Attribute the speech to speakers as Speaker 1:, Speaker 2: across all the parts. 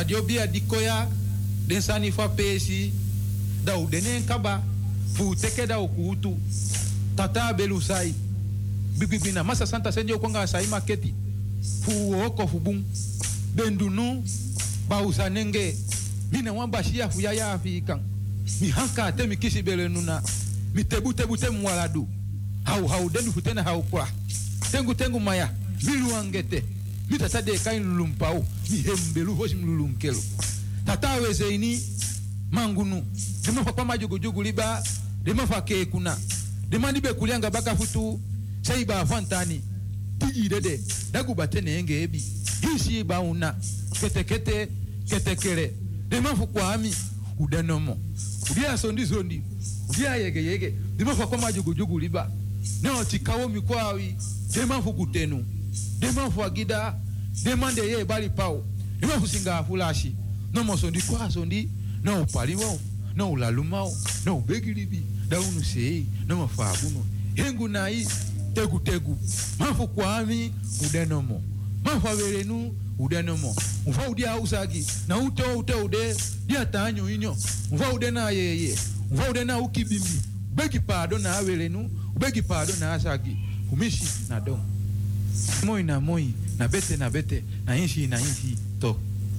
Speaker 1: Radio Bia Dikoya, den sani fa pesi, da u denen kaba, fu teke da ukutu, tata belusai, bibibina, masa santa senjo kwanga sai maketi, fu oko fu bum, bendunu, bausa nenge, mina wamba shia fu yaya afikan, mi hanka te mi kisi bele nuna, mi tebu mwaladu, hau denu futena hau kwa, tengu maya, milu angete, mi tata de kain lulumpau, mi hembelu hoshi mlulunkelu. Tata weze ini, mangunu, dema fa kwa majugu liba, dema fa ke kuna, dema nibe kulianga baka futu, saiba afantani, tigi dede, dagu batene enge ebi, hisi ba una, kete kere, dema fa kwa ami, udanomo, udia zondi, udia yege, dema fa kwa majugu liba, neo tikawo mikwawi, dema fa kutenu, dema fa gida, dema de ye bali pao, dema fa singa fulashi, no mo sondi, no paliwo, no lalumao, no begilibi, da unu sei, no mo fabuno, hengu nai, tegu, mafu kwami, udenomo, mafu averenu, udenomo, ufa udia usagi, na ude, dia tanyo inyo, ufa ude na yeye, ufa ude na ukibimbi, begi pado na averenu, begi pado na asagi, umishi na dom. Moi, na bete, na inshi, to.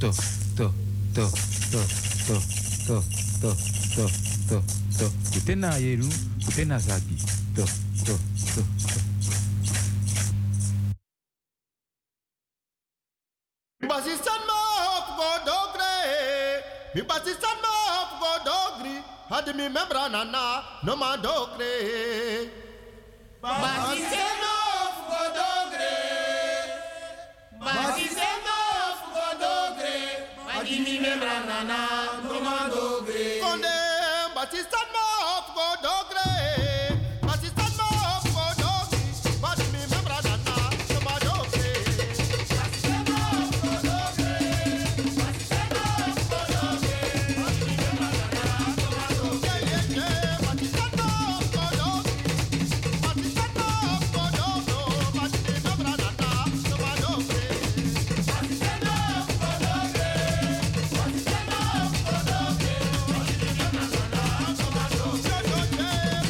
Speaker 1: Kutena yeru, kutena zagi. To.
Speaker 2: Basistan ma godogre. Mi basistan ma godogri. Had mi membra nana, no ma dogre.
Speaker 3: Basistan ma godogre. Basistan ma godogre. Adimi membra nana, no ma dogre.
Speaker 2: Konde basistan ma godogre. Basistan ma godogri. Had mi membra nana, no ma dogre.
Speaker 3: Basistan ma godogre. Basistan ma godogre. Adimi membra nana, no ma dogre.
Speaker 2: Basistan ma godogri. Basistan ma godogro. Had mi membra nana, no ma dogre.
Speaker 3: Basistan ma godogre. Basistan ma godogre. Adimi membra nana, no ma dogre.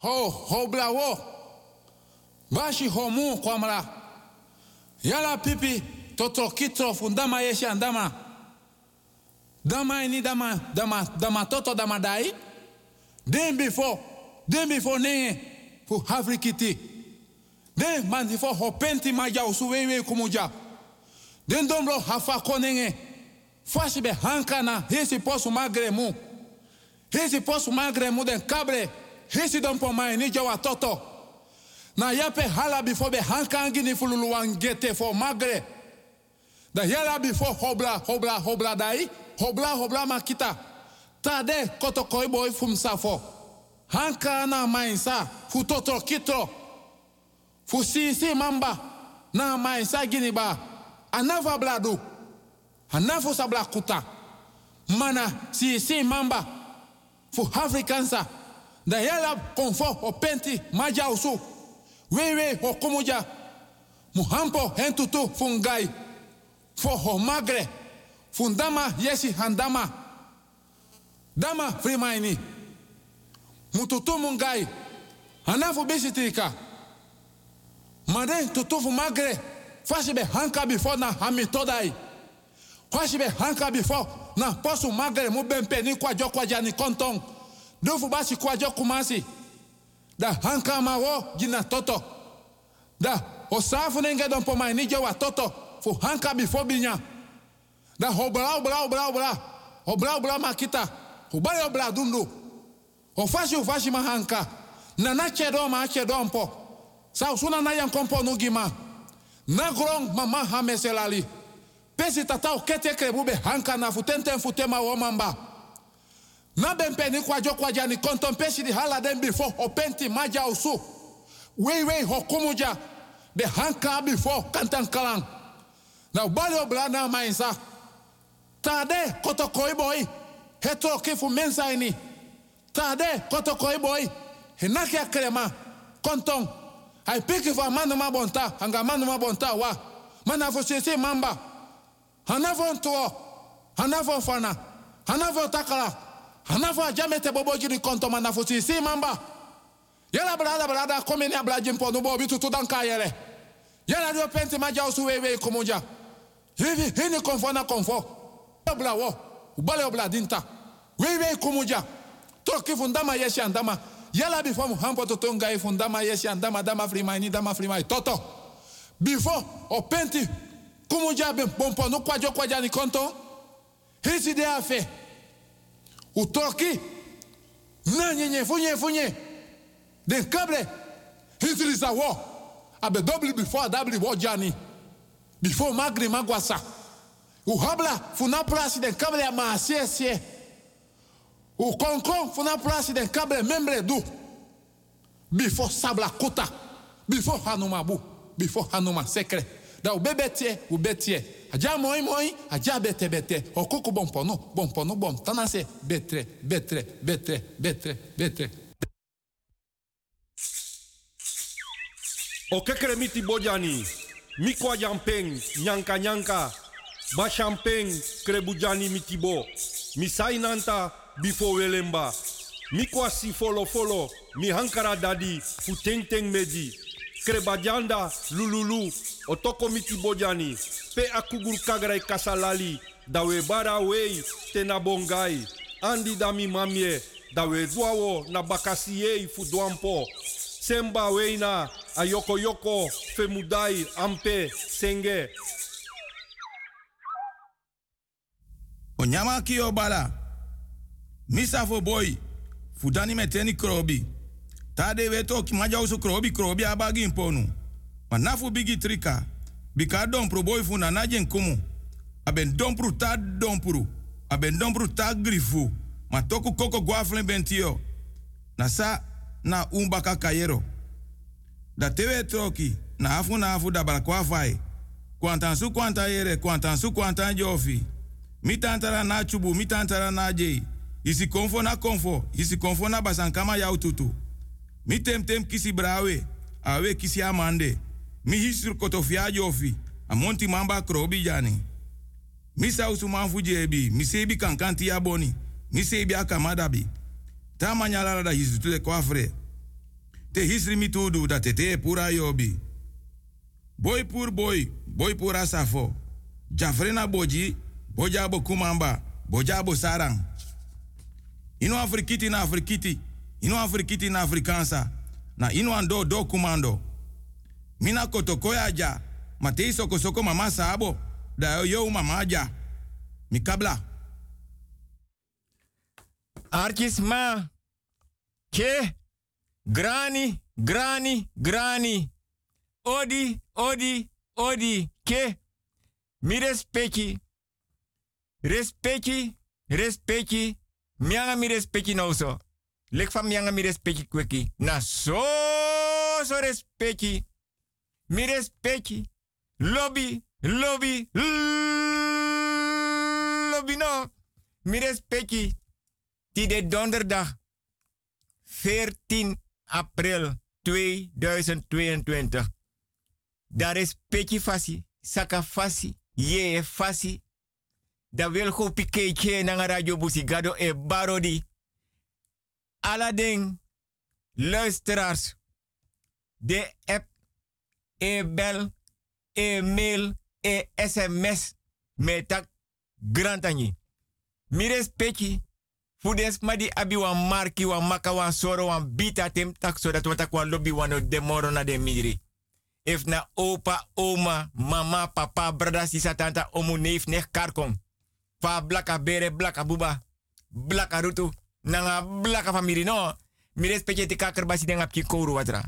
Speaker 1: ho blawo. Bashi homu kwamra. Yala pipi toto kitro fundama yeshi andama. Dama ini dama toto dama dai. Den before nenge fu Afrikiti. Den man before hopenti maja usuwewe kumuja. Den dombro hafa konenge. Fashi be hankana hesi posu magremu. Hesi posu magremu den kabre. Hesi dompo mai ni jawa toto. Na yape hala before be hankangi ni fululu wangete for magre. Da yala before hobla dai. Hobla makita. Tade koto koi boy fum safo. Hanka na mainsa fu toto kitro. Fu si mamba na mainsa giniba. Anava bladu. Anafo sabla kuta. Mana si mamba fu Afrikansa. Da yala konfo o penti maja usu. Wewe ho kumuja. Muhampo hentutu fungai. Fo ho magre. Fundama yesi handama. Dama frimaini. Mututu mungai. Hanafu bisitika. Made tutufu magre. Fashibe hanka before na hamitodai. Fashibe hanka before na posu magre mubempe ni kwa jokwa jani kontong. Dufu basi kwa jokumasi. Da hanka mawo jina toto. Da osafu nenge don pomai ni jowa toto. Fu hanka before binya. Da obla makita. Ubale obla dundu. Ufashi mahanka. Nana chedo mpo. Sa usuna na yang kompo nugima. Na grong mama hameselali. Pesi tatao kete krebube hanka na futema womamba. Na bempeni kwa jokwa jani konton pesi di hala den before openti maja usu. Wei hokumuja. De hanka before kantan kalang. Na ubale obla na mainsa. Tade koto koi boy. Heto kifu mensa ini. Tade koto koi boy. Henake akrema. Kontong. Hai piki fa manuma bonta. Hanga manuma bonta wa. Manafo sisi mamba. Hanafo ntuo. Hanafo fana. Hanafo takala. Hanafo ajamete boboji ni konto manafo sisi mamba. Yala brada komeni abla jimpo nubo bitu tudanka yele. Yala dio penti maja usu wewe kumuja. Hini konfo. Obla wo. Ubale obla dinta. Wewe kumuja. Toki fundama yeshi andama. Yala before muhampo totonga fundama yeshi andama dama frimai toto. Before openti kumuja bompo no kwa jani konto. Hisi de afe. Utoki. Na nyenye funye. Den kable. Hisi lisa wo. Abe double before double wo jani. Before magri magwasa. Uhabla funa plasi den kable ya maasie. O konkon funa plasi den kable membre du. Before sabla kota. Before hanumabu. Before hanuma sekre. Da u betie. Aja moi. Aja bete. Okoko bompono bom. Tanase betre.
Speaker 4: O kekremiti bojani. Mikwa jampeng. Nyanka. Ba champagne krebujani mitibo. Misai nanta before welemba. Mikwa si follow. Mi hankara dadi fu teng medi. Krebajanda lululu. Otoko mitibojani. Pe akugur kagrai kasalali. Dawe bara wei tena bongai. Andi dami mamie. Dawe duawo na bakasiei fu duampo. Semba weina ayoko femudai ampe senge.
Speaker 5: Onyama ki obala. Misa fo boy. Fudani meteni krobi. Tade weto ki maja usu krobi abagi imponu. Manafu bigi trika. Bika dompru boy funa najen kumu. Aben dompru ta dompru. Aben dompru ta grifu. Matoku koko guaflen bentio. Nasa na umbaka kayero. Da tewe troki. Na afu da balakwa fai. Kwantansu kwanta yere. Kwantansu kwanta jofi. Mitantara na chubu, mitantara na jei. Isi konfo na basankama ya ututu. Mitem kisi brawe, awe kisi amande. Mi hisur kotofia jofi, amonti mamba krobi jani. Misa usumanfu jebi, misebi kankanti ya boni, misebi akamadabi. Tama nyalala da hisutule kwafre. te hisri mi tudu dat te pura yobi. Boy pur boy, boy pura safo. Jafrena boji, boja bo kumamba, boja bo sarang. Ino Afrikiti na Afrikiti, ino Afrikiti na Afrikansa, na ino ando do kumando. Mina kotokoya ja, matei soko soko mama sabo, da yo mama ja. Mikabla.
Speaker 6: Artjes ma. Ke. Grani, grani, grani. Odi, odi, odi. Ke. Mi respecti. Respecti, respecti. Mianga mi respecti nou so. Lek van mianga mi respecti kweki. Na so respecti. Mi respecti. Lobby, lobby, lobby no. Mi respecti. Die de donderdag 14 april 2022. Daar is peki fasi, saka fasi, ye fasi. Da wil go piketje na radio busigado e barodi. Alading luisteraars. De app, e bel, e mail, e sms. Metak grantani. Mires peki. Fudes ma di abi wan marki wan maka wan soro wan bita tem tak so dat wata kwa lobby wan de moro na de midri. If na opa, oma, mama, papa, brada, sisa, tanta, omu, neef, nech, karkong. Fa blaka bere, blaka buba, blaka rutu, nanga blaka famiri no. Mi respecte te ka kerbasi de ngap ki kouru watra.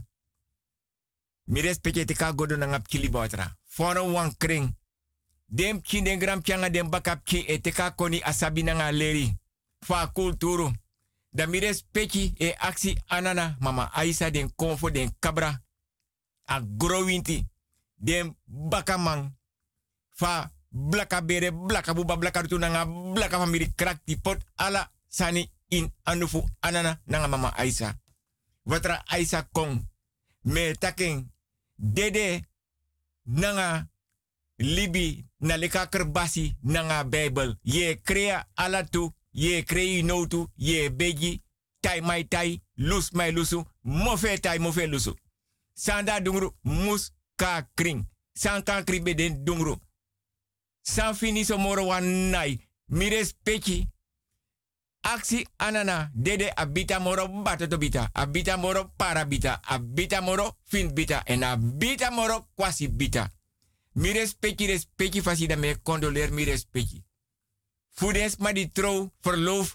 Speaker 6: Mi respecte te ka godo na ngap ki liba watra. Fono wan kring. Dem ki den gram pianga dem bakap ki e te ka koni asabi nanga leri. Fa kulturu. Da mi respecte e aksi anana mama Aisa den konfo den kabra. A growinti. Den bakamang. Fa blaka bere, blaka buba, blaka rutu nanga blaka famiri krakti pot ala sani in anufu anana nanga mama Aisa. Watra Aisa kong. Me taking dede nanga libi na leka kerbasi nanga Bible. Ye crea alatu, ye crei notu, ye begi, tai mai tai, lus mai lusu, mofe tai mofe lusu. Sanda dungru mus ka kring. San kan kribe den dungru. San fini so moro wan nai. Mires pechi. Aksi anana dede abita moro batoto bita. Abita moro parabita. Abita moro fin bita. En abita moro kwasi bita. Mi respecti fasi da me condoleer mi respecti. Fudens ma di trouw verloof.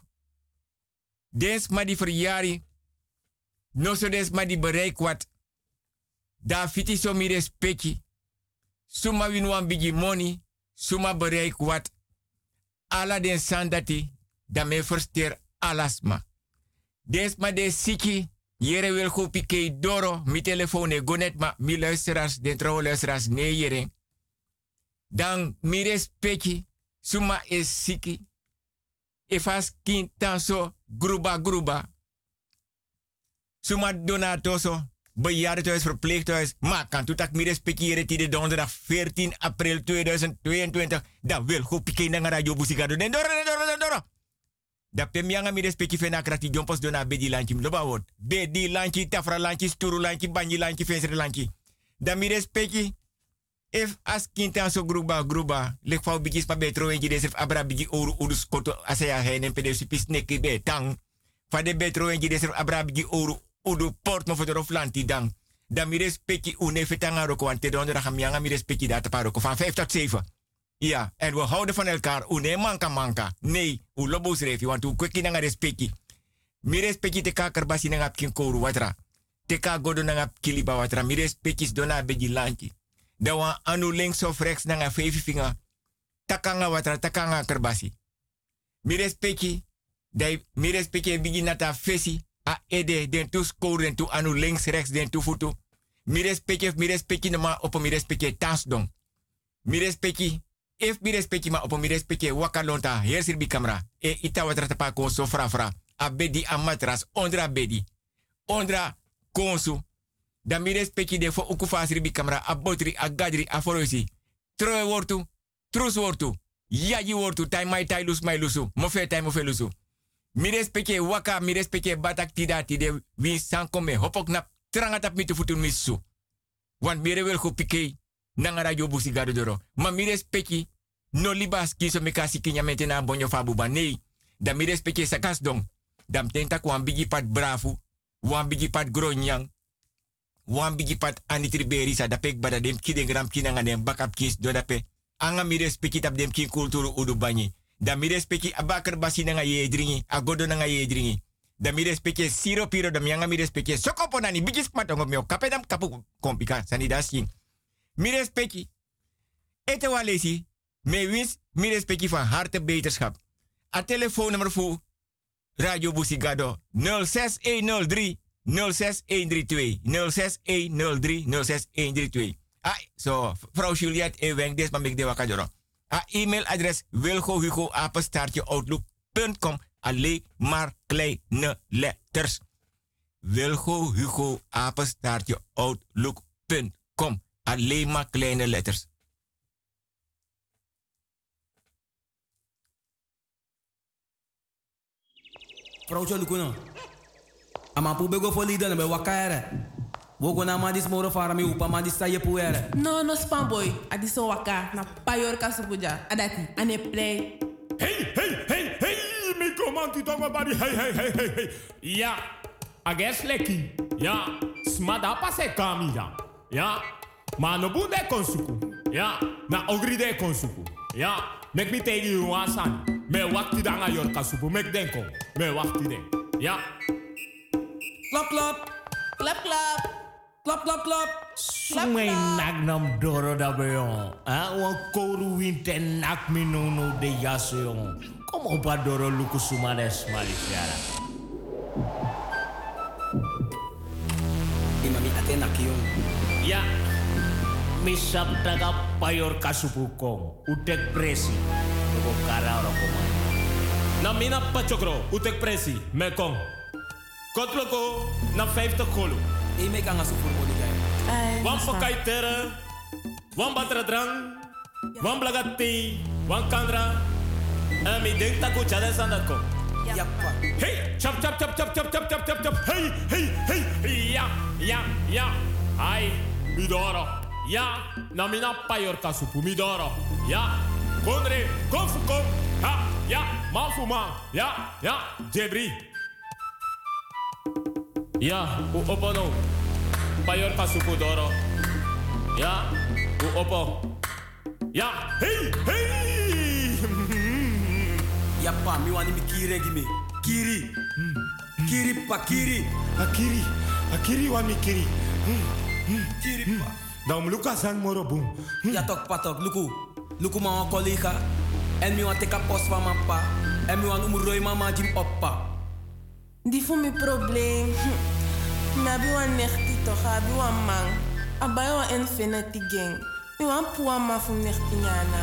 Speaker 6: Dens ma di verjari. No so des ma di bereik wat. Da fiti so mi respecti. Suma winwan bigi money. Suma bereik wat. Ala den sandati. Da me versteer alasma. Dens ma de siki. Jere wil go pike doro. Mi telefoon gonet ma mi luisteraars. Den trouw luisteraars nee jere. Dan mi respecti. Suma is siki. Efas kintan so gruba gruba. Suma donatoso. Bejaardentehuis, verpleeghuis. Maar kan toetak mi respecti jere die de donderdag 14 april 2022. Dan wil go pike na radio busigado. Den doro. Da pemianga mi respecti fena krati jompos dona bedi lanchi loba word. Bedi lanchi, tafra lanchi, sturu lanchi, banyi lanchi, fensere lanchi. Da mi respecti. If as kintan so gruba. Lek fau bigis pa betro en jide serf abra bigi oru udus koto asaya henen pede supis neki be tang. Fa de betro en jide serf abra bigi oru udu port mo fodoro flanti dang. Da mi respecti une fetanga roko ante donderdag mianga mi respecti data paroko van 5 tot 7. Ja, en we houden van elkaar. Une manka. Nee, u lobos refi, want u kweki nanga respecti. Mi respecti te ka kerbasi nanga pkin koru watra. Te ka godo nanga kiliba watra. Mi respecti dona begi lanchi. Da wan anu links of rechts nanga 5 vinger. Takanga watra, takanga kerbasi. Mi respecti bigi nata fesi. A ede den tu score den tu anu links rechts den tu futu. Mi respecti noma opo mi respecti tasdong. Mi respecti if mi respecti ma opo mi respecti wakalonta hier sirbi camera. E ita watra tapa konso fra. A bedi a matras ondra bedi. Ondra konsu. Da mi respecti de fo ukufa sirbi camera. A botri, a gadri, a forosi. Troe wortu, trus wortu. Yaji wortu, tai mai tai lus mai lusu. Mofe tai mofe lusu. Mi respecte waka, mi respecte batak tida tide win sankome hopok na stranga tap mi te futun misu. Want mire wil go pike nanga radio busigado doro. Ma mire speki no libas kiso me kasi kinya metena bonyo fabuba. Nee, da mire speki sakas dong. Dam tenta kwan bigi pat brafu, wan bigi pat gronyang, wan bigi pat anitriberi sa da pek bada dem kiden gram kinanga dem bakap kis do da pe. Anga mire speki tap dem kin kulturu udu banyi. Da mire speki abakar basi nanga ye dringi, agodo nanga ye dringi. Da mire speki siro piro da mianga mire speki sokopo nani bigis patong mio kapedam kapu kompika sani dasing. Mire speki ete walesi me wins mire speki van harte beterschap. A telefoonnummer voor Radio Busigado 06103 06132 06103 06132. Ah, so vrouw Juliette Eweng des maar ik de wakadoro. E-mailadres wilgohugo@outlook.com. Alleen maar kleine letters. wilgohugo@outlook.com. Alleen maar kleine letters.
Speaker 7: Vrouw Lukuno. Amapu bego folida na be wakare. Wogo na madis moro fara mi upa madis sa yepuere.
Speaker 8: No spamboy. Adiso waka na payor kasupuja. Adati ane play.
Speaker 9: Hey, mi comanti tongo bari. Hey. Ja, ages leki. Ja, smada pase kamida. Ja, ma no bunde konsuku. Ja, na ogride konsuku. Ja, mek mi tegi uasan. Me wakti danga yor kasupu mek denko. Me wakti den. Ja.
Speaker 7: Klap klap.
Speaker 8: Klap klap.
Speaker 7: Klap klap klap.
Speaker 9: Sumay nagnam doro da beyon. Wan koru winte nak mi no de yaso yon. Kom op a doro luku sumades malisiara.
Speaker 7: Imami atenak yon.
Speaker 9: Ja. Misap daga payor kasupu kong. Utek presi. Ko kara oro komai. Na mina pachokro. Utek presi. Me kong. Kotloko na 50 kolo.
Speaker 7: Ik maak aan een voetballiga.
Speaker 9: Wan pakai tere, wan batra drang, wan blagati, wan kandra. En mi denk dat ik chade sandat kom.
Speaker 7: Ja, pa.
Speaker 9: Hey, chap. Hey. Ja. Ai, midoro. Ja, na mina payor kasupu midoro. Ja, konre, konfukom. Ha, ja, mafuma. Ja, jebri. Ja, u opono. Payor kasupu doro. Ja, u opo. Ja, hey.
Speaker 7: Ja, pa, mi wani mi kiri gime. Kiri. Kiri pa, kiri.
Speaker 9: Akiri wan mi kiri.
Speaker 7: Kiri pa.
Speaker 9: Dan luka sang moro boom.
Speaker 7: Ja, tok patok, luku ma wan collega. En mi wan teka post van mijn pa. En mi wan umuroi mama jim oppa.
Speaker 8: Die voor mijn probleem. Nabi wan nechti toch, abi wan man. Abai wan infinity gang. Mi wan puwa ma voor nechti nyana.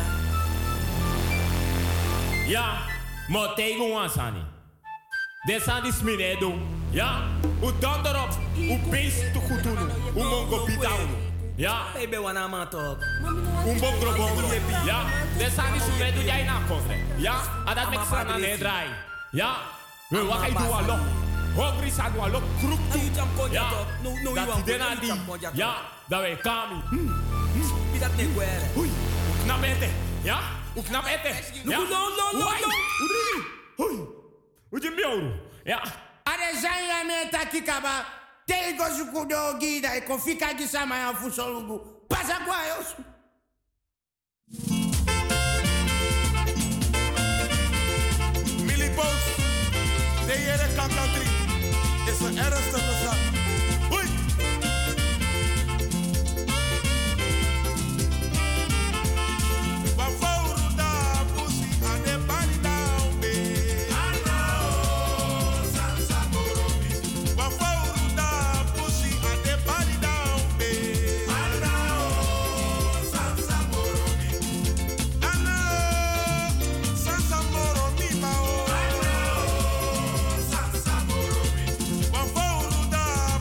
Speaker 9: Ja, maar tegen wan sani. Desandi sminedo. Ja, u dondorop. U beest te goed doen. U mongo pitao. Ja.
Speaker 7: Baby wana ma toch.
Speaker 9: Un bongro. Ja, desandi sminedo jij na kofre. Ja, adat mek sana ne drai. Ja. We wakai du alok. Hongri sa du alok kruk tu. Ja. Dat dena di. Ja, da we kami.
Speaker 7: Pidat ne guerre.
Speaker 9: Ui. Knap ete. Ja? Knap ete. Ja.
Speaker 7: No.
Speaker 9: Ui. Uje mioru. Ja.
Speaker 10: Are zanya meta kikaba. Tego zukudo gida e kofika gisama ya fusolugu. Pasa kwa yosu.
Speaker 11: Post, de hele kankantrie is een ernstige zaak. Hoi! Waarvoor daar pussy aan de bani down be? Sansa Morobi. Waarvoor daar pussy aan de bani down be? Sansa Morobi. Sansa Morobi.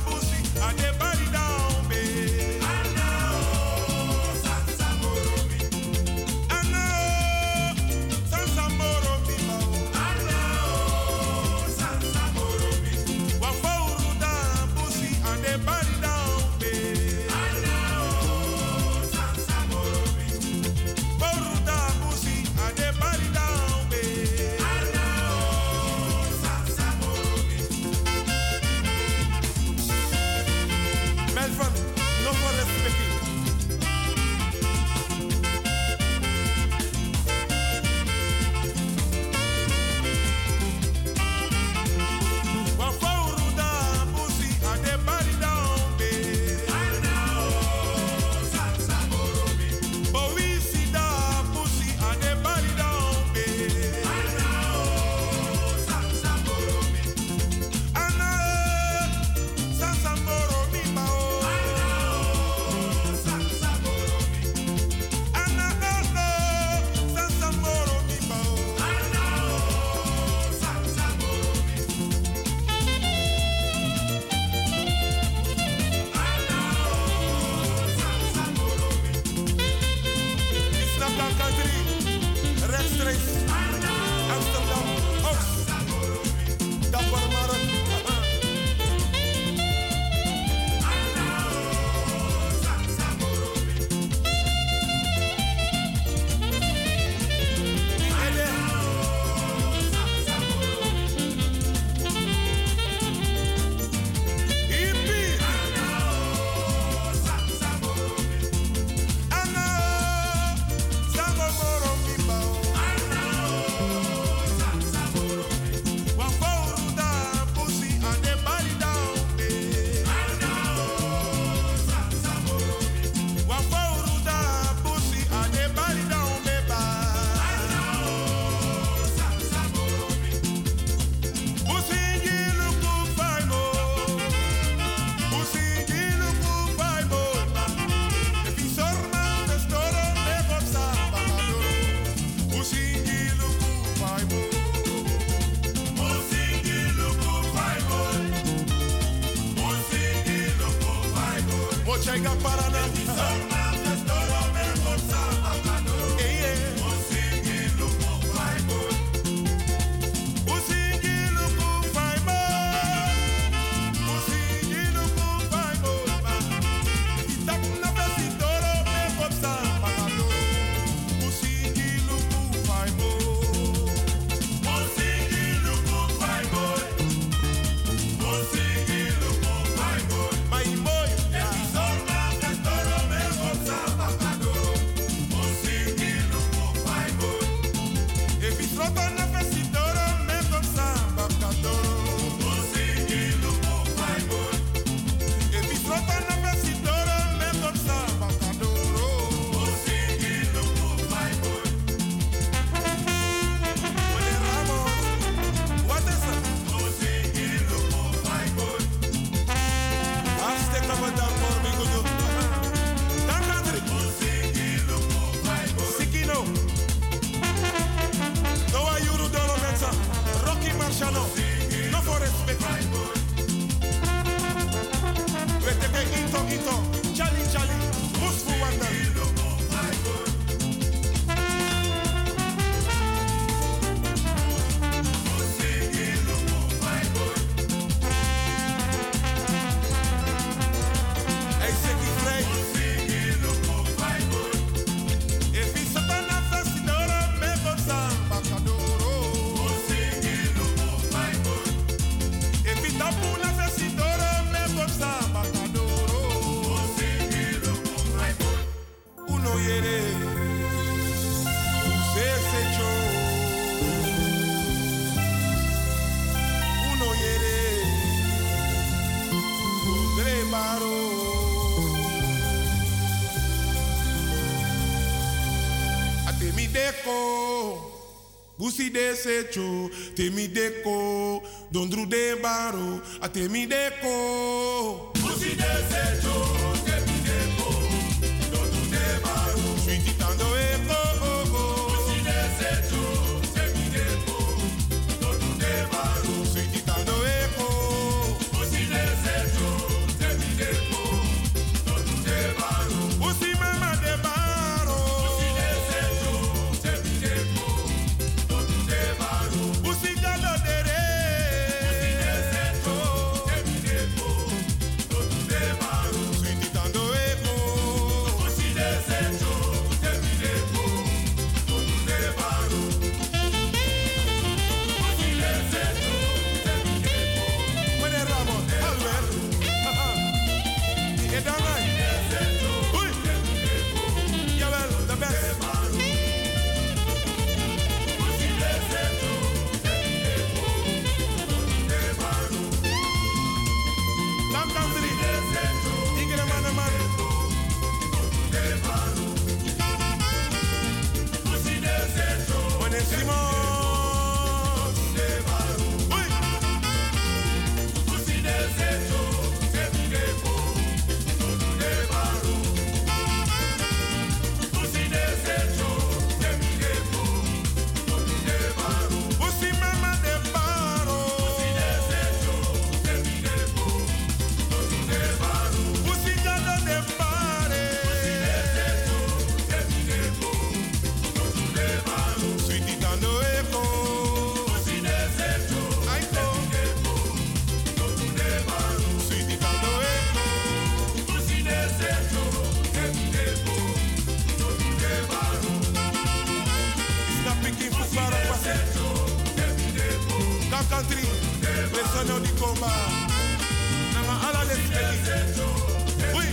Speaker 11: Parijs, Amsterdam, Oost, Dapper Markt.
Speaker 12: Busi de secho, temi deko, dondru de baro, a temi deko.
Speaker 11: Busi de secho, temi deko, dondru de baro,
Speaker 12: sweetie tando eko.
Speaker 11: Busi de secho, temi deko, dondru de baro,
Speaker 12: sweetie tando eko.
Speaker 11: Busi de secho, temi deko, dondru de baro,
Speaker 12: busi mama de baro.
Speaker 11: Busi de secho, temi deko.
Speaker 12: Busi jalo dere.
Speaker 11: Busi de secho, temi deko, dondru de baro,
Speaker 12: sweetie tando eko. country. Listen on the combat. Nanga ala les peli. Oui.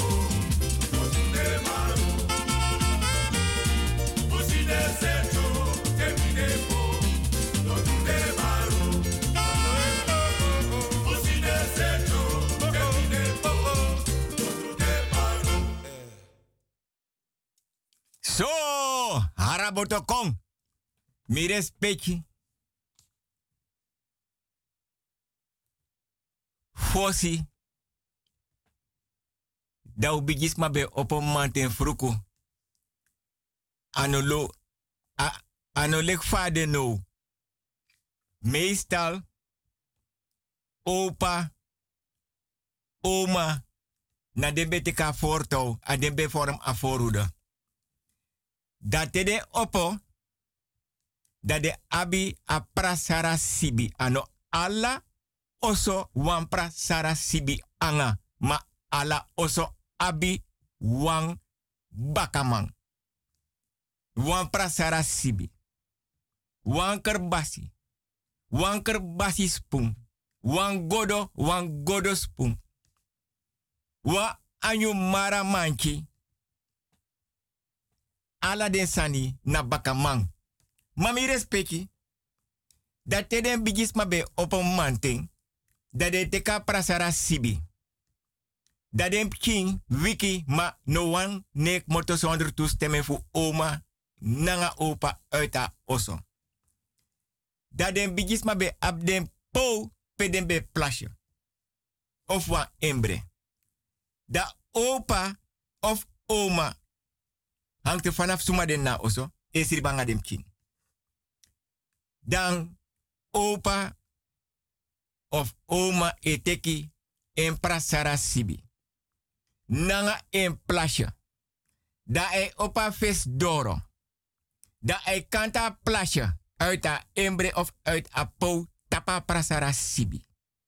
Speaker 6: So, haraboto kong. Mi respecti. Fosi. Da ubigis mabe opo manten fruku. Anolek fade no. Meestal. Opa. Oma. Na dembe teka forto. A dembe vorm a voorhoede. Dat de opo. Dat de abi a prasara sibi. Ano alla oso wan prasara sibi anga. Ma alla oso abi wan bakamang. Wan prasara sibi. Wan kerbasi. Wan kerbasi spoon. Wan godo spoon. Wa anyu mara manchi. Ala den sani na bakamang. Mami respecti. Dat te den bigis mabe op een manting. Dat de teka prasara sibi. Dat den king wiki ma no one nek moto zonder toestemming voor oma nanga opa uit haar osso. Dat den bigis mabe ab den po pe den be plasje. Of wa embre. Da opa of oma hangt er vanaf suma den na osso. Esiri banga dem king. Dan opa of oma eteki en prasara sibi. Nanga en plasje. Da e opa vis doro. Da e kanta plasje uit a embre of uit a po tapa prasara sibi.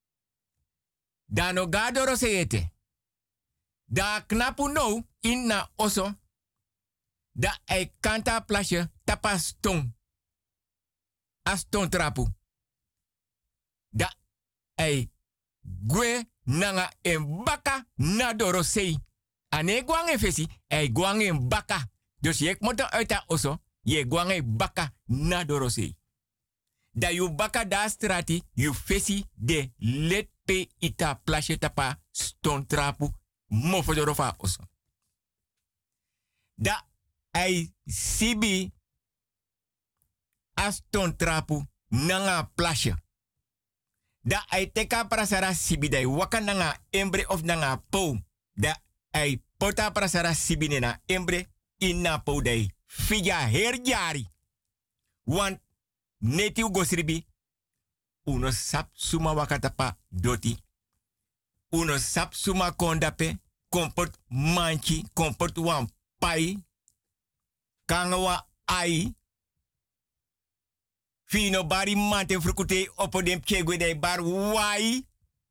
Speaker 6: Da no gadoro se ete. Da knapu no in na oso. Da e kanta plasje tapa stong. Aston trapu. Da ei gwe nanga en baka na dorosei. Ane guang en fesi, ei guang en baka. Dus je moet uit dat osso, je guang en baka na dorosei. Da you baka da strati, you fesi de let pe ita plasje tapa ston trapu mofo dorofa osso. Da ei sibi aston trapu nanga plasje. Da ai teka prasara sibi dai waka nanga embre of nanga po. Da ai pota prasara sibi nena embre inna po dai. Fija herjari. Want neti ugosribi. Uno sap suma wakatapa doti. Uno sap suma kondape. Komport manchi. Komport wan pai. Kangawa ai. Fino bari mante frukute opo dem chegwe dai bar wai.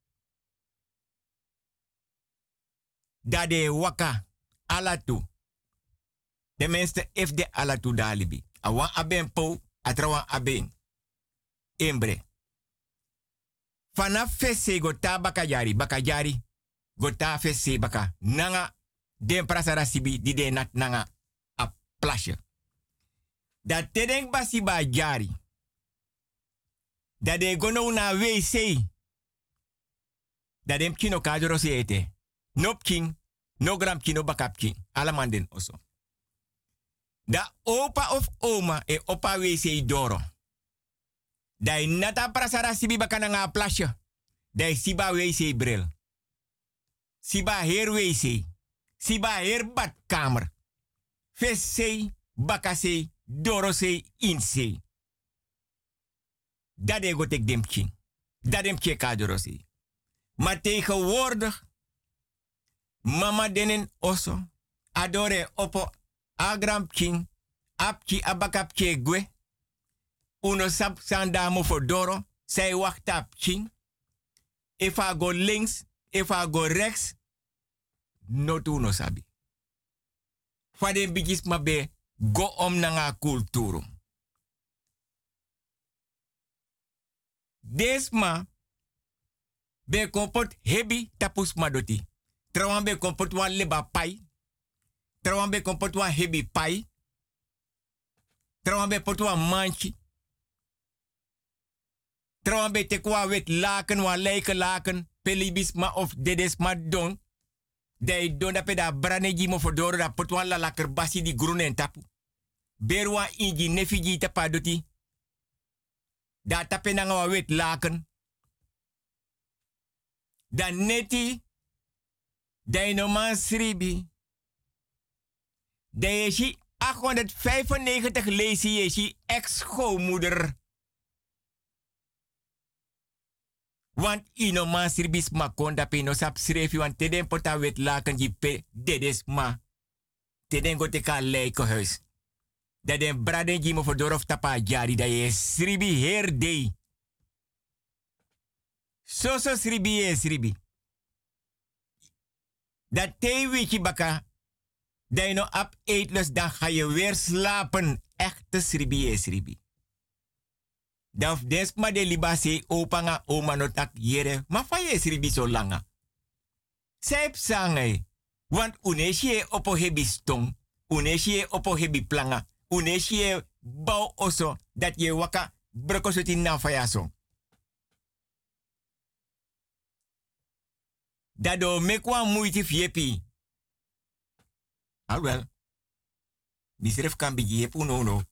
Speaker 6: Dade waka alatu. De mensen if de alatu dalibi. Awan aben po, atrawan aben. Embre. Vanaf fese gota bakajari. Gota fese baka. Nanga den prasara sibi di de nat nanga a plasje. Dat tedeng basi ba jari. Dat de gono na wc. Dat dem kino kadro se ete. Nop king, no gram kino bakap king. Alamanden oso. Da opa of oma e opa wc doro. Da nata prasara sibi bakana nga plasje. Da siba wc bril. Siba her wc. Siba her badkamer. Vese, bakase, dorose, inse. Dat de gotek dem king. Dat dem king kadorosi. Maar tegenwoordig, mama denen oso, adore opo agram king, apki abakapke gwe, uno sap sandamo for doro, zij wacht op king. If I go links, if I go rechts, no tu no sabi. Fade bigis mabe, go om nanga kulturu. desma be kompot hebi tapus madoti. Trawan be kompot wa leba pai. Trawan be kompot wa hebi pai. Trawan be pot wa manchi. Trawan be tekwa wet laken wa leike laken. Pelibis ma of dedes ma don. Dai don da peda braneji mo fodoro da pot wa la laker basi di groene en tapu. Berwa inji nefiji tapadoti. Da tape nanga wa wet laken. Da neti. Da no man sribi. Da yeshi 895 leesi yeshi ex-schoonmoeder. Want ino man sribis makonda pe no sap srefi want teden pota wet laken jipe dedes ma. Teden go teka leiko huis. Dat den braden jimo voor dorof tapa jari da je sribi her day. So sribi ye sribi. Dat te wiki baka. Dat je no ap eetless dan ga je weer slapen. Echte sribi ye sribi. Dan desma de libase opanga oma notak yere. Maar van je sribi zo langa. Sep sangai. Want uneshi opo hebi stong. Uneshi opo hebi planga. Uneshi bau oso dat je waka brokosoti na fayaso. Dado mekwa moeite fiepi. Alwel. Misref kan bigi je punono.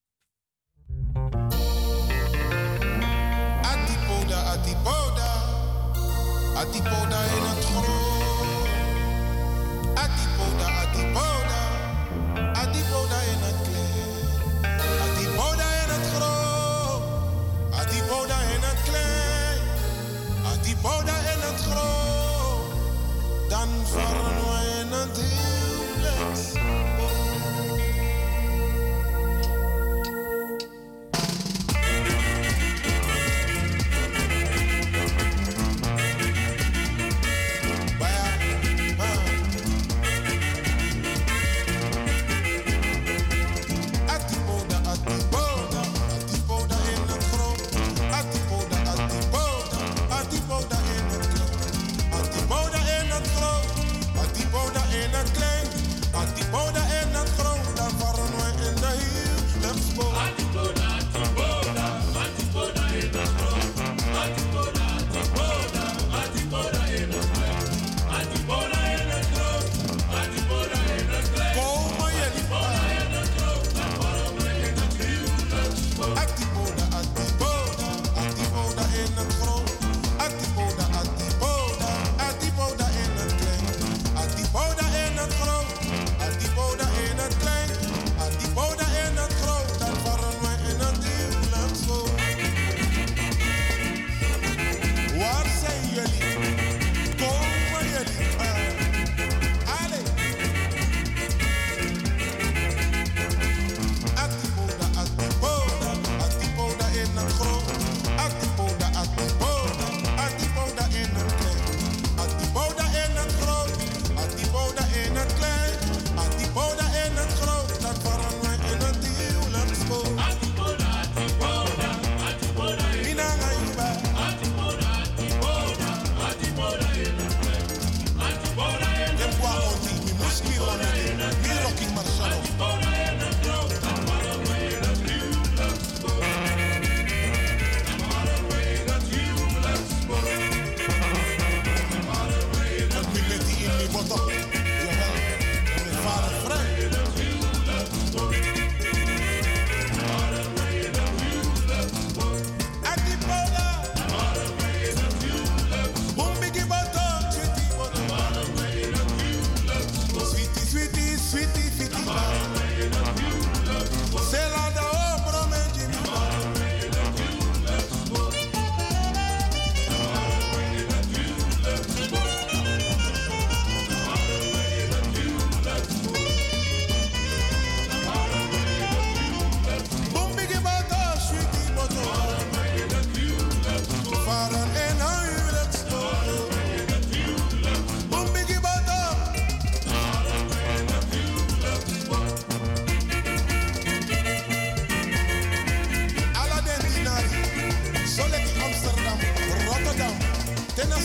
Speaker 11: Atipoda. Atipoda in het groot. Atipoda. Atipoda in het klein. Atipoda in het groot. Atipoda in het klein. Atipoda in het groot. Dan varen we in het huwelijks.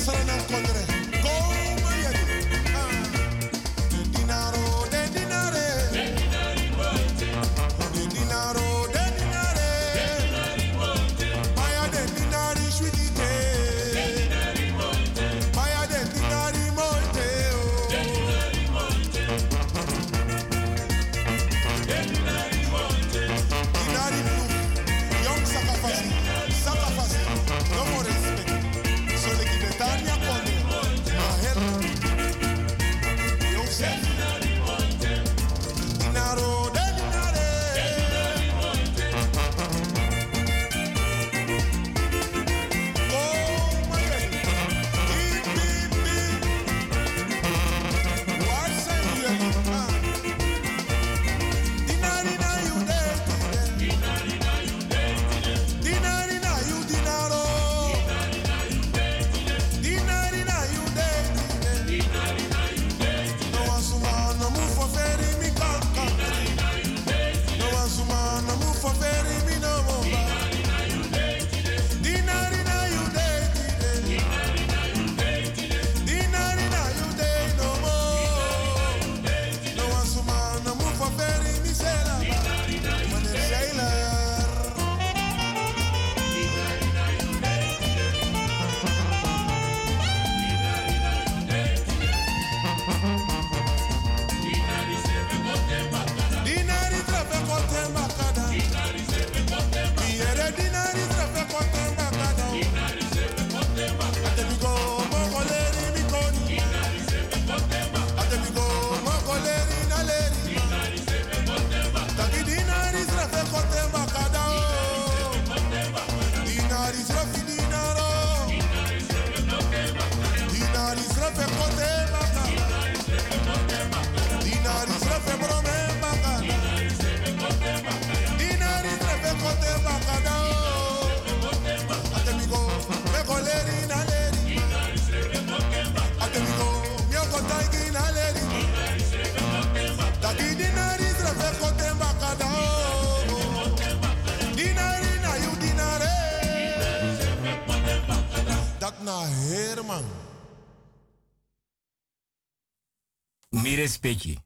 Speaker 6: Mi respecti.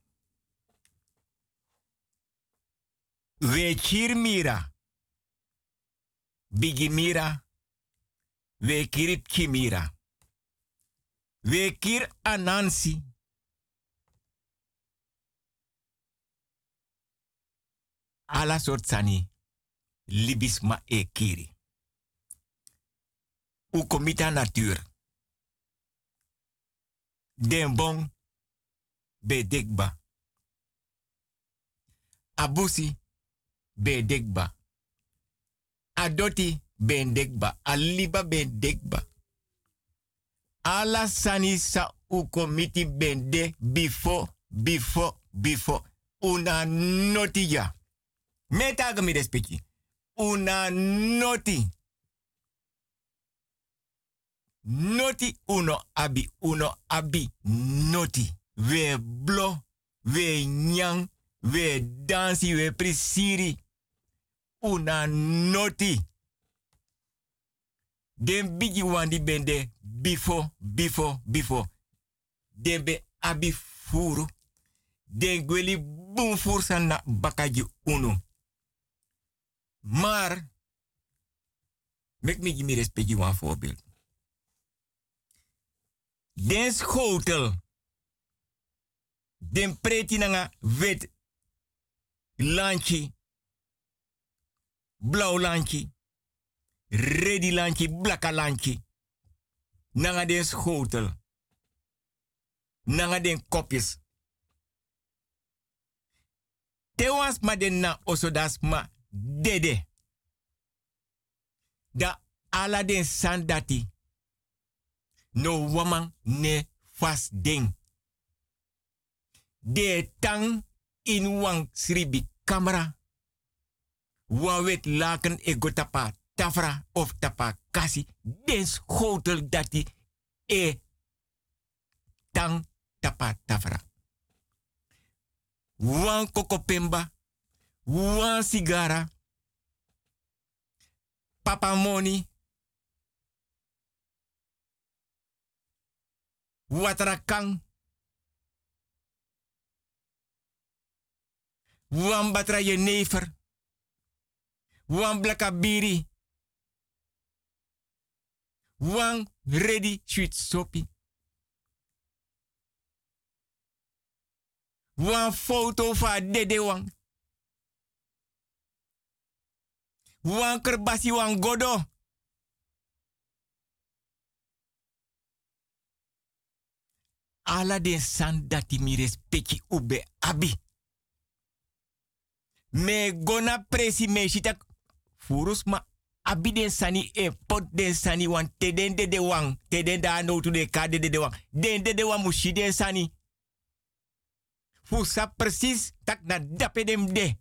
Speaker 6: We kir mira. Bigi mira. We kirip kimira. We kir anansi. Ala soort sani. Libisma e kiri. U komita natuur. Den bon be dekba. Abusi be dekba. Adoti be dekba. Aliba be dekba. Ala sani sa u komiti bende before. Una noti ya. Metaga mi respecti. Una noti. Noti uno abi noti. We blo, we nyang, we dansi, we prisiri. Una noti. Den bigi wandi bende before. Den be abi furu. Den gweli boom fursa na bakaji uno. Maar, mek me give me respect one voorbeeld. Den schotel. Den preti nanga wit lanchi. Blauw lanchi. Redi lanchi, blakka lanchi. Nanga den schotel. Nanga den kopjes. Tewas ma den na osodas ma dede. Da ala den sandati. No woman ne fast ding. De tang in wang sribi camera. Wan wet laken e go tapa tafra of tapa kasi. Den schotel dati e tang tapa tafra. Wan kokopemba. Wan sigara. Papa money. Watrakang. Wan batra jenever. Wan blakabiri. Wan ready sweet soppy. Wan foto van dede wang. Wan kerbasi wan godo. Ala den san dati mi respecti ube abi. Me gona presi me shitak furus ma abi den sani e pot den sani wan teden de wang. Teden da no to de kade de wang. Den de wang mushi den sani. Fusa precies tak na dape dem de.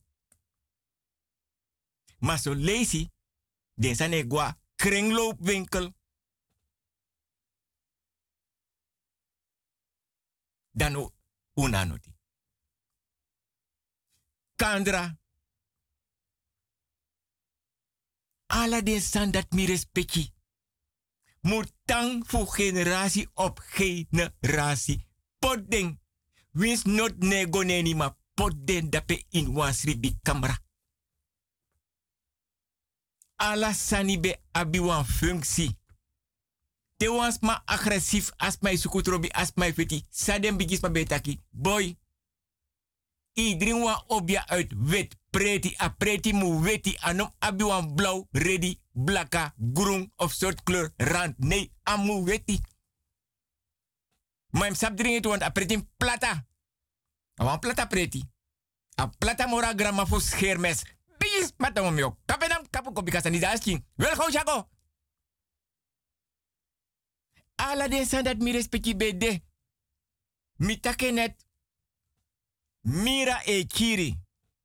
Speaker 6: Maar zo lazy, den sani gwa kringloopwinkel. Dan unanoti. Kandra. Ala den san dat mi respecti. Murtang voor generatie op generatie. Potding. Wins not nego neni ma potden dape in wansri bi kamera. Ala sani be abi wan functie. Te wans ma agressief as my sukutrobi as my feti. Sadem bigis ma betaki. Boy. Iedereen wan obja uit wit. Preti a preti mu weti anom abi wan blauw, ready, blaka, groen of soort kleur rand. Nee, amu weti. Maar hem sap drinken want a preti plata. A wan plata preti. A plata mora grama voor schermes. Bis matamom yo. Kapenam kapu kopika sani dasking. Wel gauw jago. Ala den san dat mi respecti bede. Mi takenet. Mira e kiri.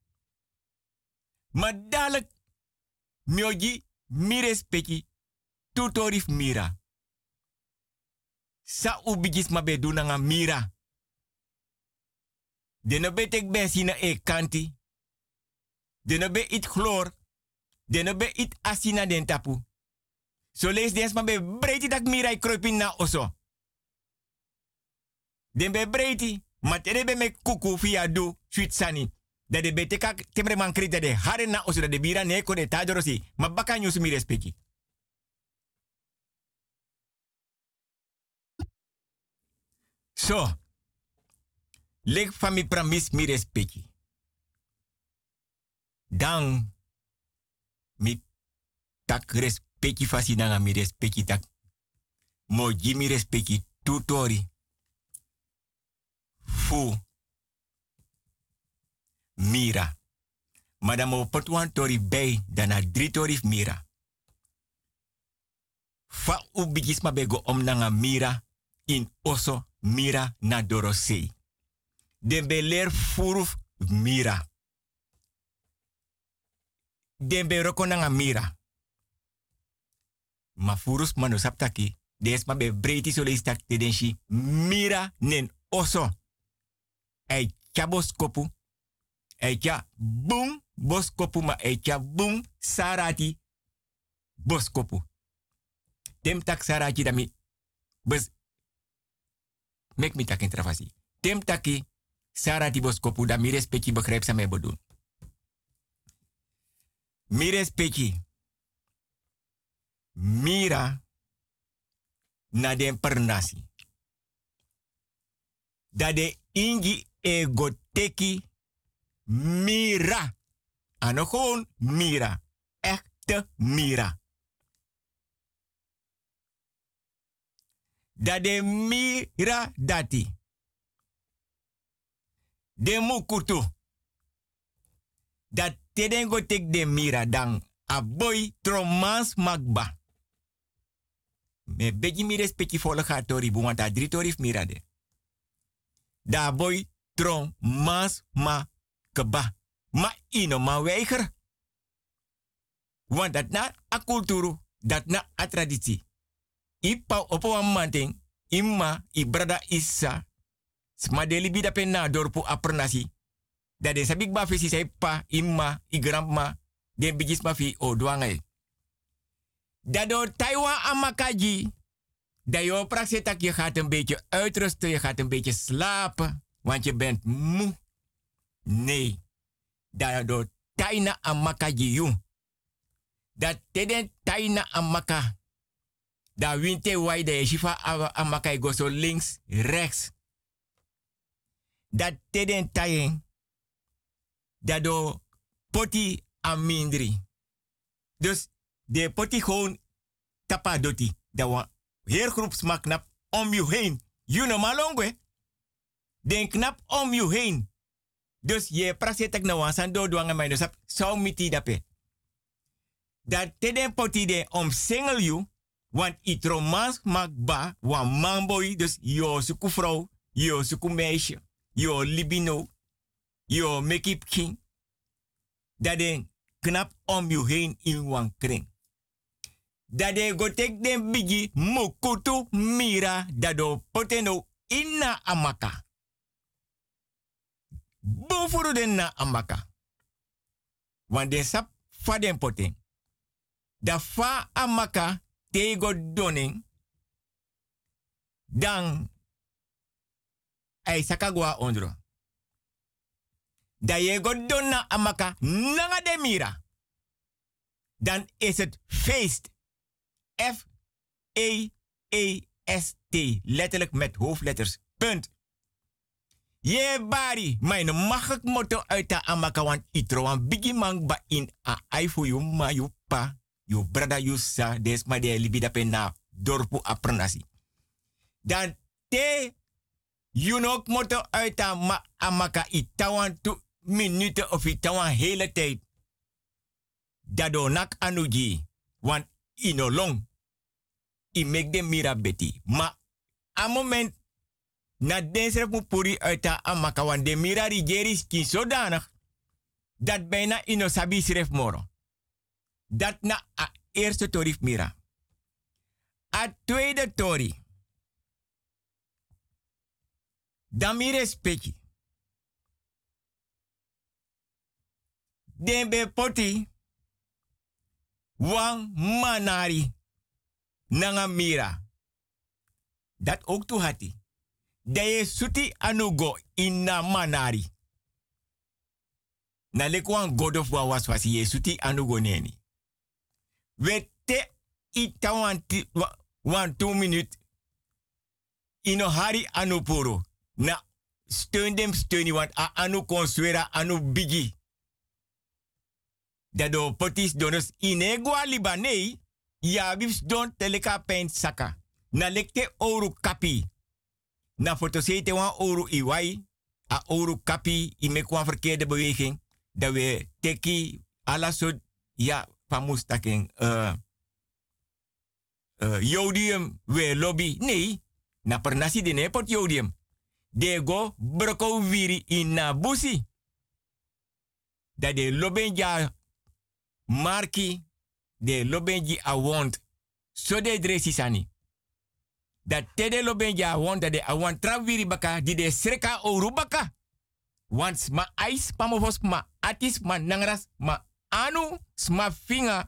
Speaker 6: Maar dadelijk, mioji, mi respecti, tutorif mira. Sa ubigis ma be dunanga mira. De no betek bensina e kanti. De no be it chlor. De no be it asina den tapu. So lees dens ma be breiti tak mira i kruipin na oso. Den be breiti, ma tere be me kuku via do, sweet sani. Dat de beteka temre man krita de haren na oso de bira neko de tajorosi. Ma baka nyusu mi respecti. So. Leg van mi pramis mi respecti. Dan. Mi tak respecti fasinanga mi respecti tak. Moji mi respecti tutori. Fu. Mira. Madame opotwan tori bay dana 3 tori mira. Fa ubigis ma bego om nanga mira in oso mira na dorosei. Den be ler furuf mira. Den be roko nanga mira. Ma furus mano saptaki. Des ma be breiti so leistak te denshi mira nen oso. Ei chabos kopu. Echa boom boskopu ma echa boom sarati boskopu. Tem tak sarati dami bes mek mi tak intravasi. Tem taki sarati boskopu da mi respecti begrijp sa me bedoel. Mi respecti. Mira na den pernasi. Da de ingi egoteki mira. Ano gewoon mira. Echte mira. Da de mira dati. De mukutu. Dat tedengo tek de mira dan a boy tromans magba. Me beji mi respecti volga tori bu want a 3 tori mira de. Da boy tromans magba. Ma ino ma weiger. Want dat na a kulturu, dat na a traditie. Ipa opo een manting, imma, i brada issa, smadeli bida penna dorpu a pernasi. Dat de sabik ba fisi say pa, imma, i grandma, den bigis ma fi o douangai. Dat do Taiwan amakaji, Dat je praxetak, je gaat een beetje uitrusten, je gaat een beetje slapen, want je bent moe. Nee. Dat door taina amaka jiyu. Dat teden taina amaka. Dat winte wai de shifa amaka go zo links, rechts. Dat teden taien. Dat door poti amindri. Dus de poti gewoon tapa doti. Dat wa heel groep smak knap om je heen. You know malongwe. Den knap om je heen. Dus je prasetek na wansan do duanga mij dus op zou miti dape. Dat teden poti de om single you. Want it romans mak ba wan manboy. Dus yo suku vrouw. Yo suku meisje. Yo libino. Yo make it king. Dat den knap om je heen in wan kring. Dat de go tek den bigi mukutu mira. Dat do poteno inna amaka. Bofuru den na amaka. Want de sap fa den poten. Da fa amaka te go doning. Dan ay sakagwa ondro. Da je go donna amaka nanga de mira. Dan is het feest. F-E-E-S-T. Letterlijk met hoofdletters. Punt. Je bari, mijn mag ik motto uit de amaka, want itroan bigi man ba in a ai voor you ma you pa, you brada you sa, des ma de libida pena dorpu aprenasi. Dan te, you nok motto uit de amaka itawan 2 minuten of itawan hele tijd. Dado nak anuji, want ino long. I make de mira beti. Ma a moment na densref mu puri uit de amaka wan de mira rigeris kin zodanig dat bijna ino sabi sref moro. Dat na a eerste torif mira. A tweede tori. Dan mire speki. Den be poti wan manari nanga mira. Dat ook toe hati. De suti anugo inna manari. Na lekwan god of war was ye suti anugo neni. Wete itawan 2 minute. Ino hari anupuro. Na steun dem steuni want a anu consuera anu bigi. Dado potis donos inegwa libanei. Ja bibs don teleka pen saka. Na lekte oru kapi. Na fotosete wan oru iwai. A oru kapi imekwan verkeerde beweging. Dat we teki ala so ja famus taking jodium we lobby. Nee. Na pernasi de nepot jodium. De go broko viri in na busi. Dat de lobenja marki. De lobenji awond. So de dresi sani. Dat tede lobenji awond. Dat de awond traviri baka. Die de sreka oru baka. Want sma ais pamofos ma atis ma nangras ma anu sma finga.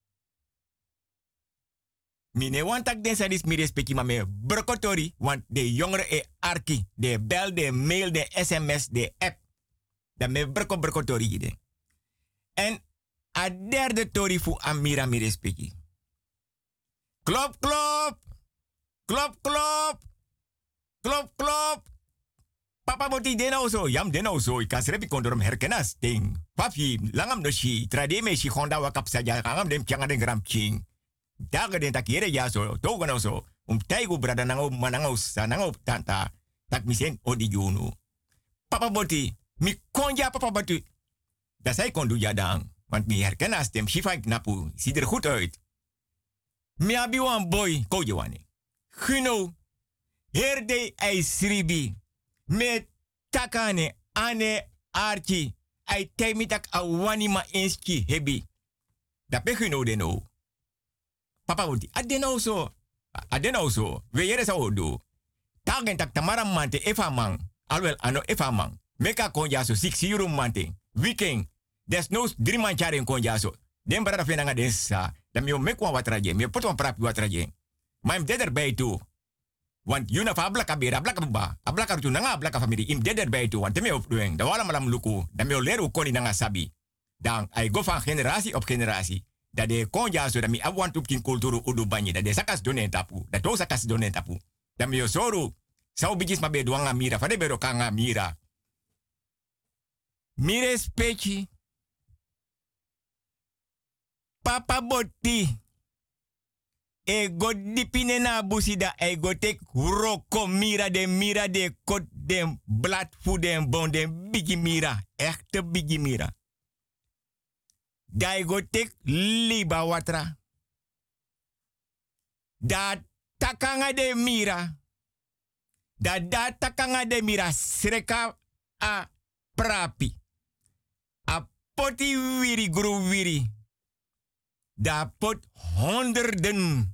Speaker 6: Mine wantak den sadis mi respecti ma me brokotori. Want de jongere e arki. De bel, de mail, de sms, de app. Dat me brokotori ide. En a derde tori fu amira mi respecti. Klop, klop. Klop, klop. Klop, klop. Papa boti denau so. Yam denau so. Ik kan srepi kondorom herkenas. Ting. Papi, langam no shi. Trade me shi honda wakap saja. Langam dem changa den gram ching. Daga den takire ya so. Toga no so. Taigu brada nango manango sa nango tanta. Tak misen odi junu. Papa boti. Mi konja papa boti. Dat zij kon doen ja dan. Want mi herkenas dem shifa knapu. Ziet er goed uit. Mi abi wan boy. Koje wane. Gino. Herde ai sribi. Me takane ane archi. Ai temitak awani ma enski hebi. Da pegino deno. Papa wuti. Adeno so. Adeno so. We yere sa odo. Tagen tak tamaram mante efa man. Alwel ano efa man. Meka konja so 6 euro mante. Weekend. Des no 3 man charen konja so. Den brada fenanga den sa. Da mi o mekwa watraje. Mi poto prapi watraje. Maar im dead erbij toe. Want you na fa blaka bera, blaka ba. A blaka rutu nanga, blaka familie. Im dead erbij toe. Want teme opdoen. Da wala malam luku. Da me leren koni nanga sabi. Dan I go van generatie op generatie. Dat de konja zo dat mi abwant op kin kulturu udu banye. Dat de sakas donen tapu. Dat to sakas donen tapu. Dat me yosoru. Sau bijis ma be duanga mira. Fade be rokanga mira. Mire spechi. Papa Botti. Ego dipine na busida. Ego tek roko mira de kot de blad fu de bon de bigi mira. Echte bigi mira. Da ego tek liba watra. Da takanga de mira. Da takanga de mira. Sreka a prapi. A poti wiri gru wiri. Da pot honderden.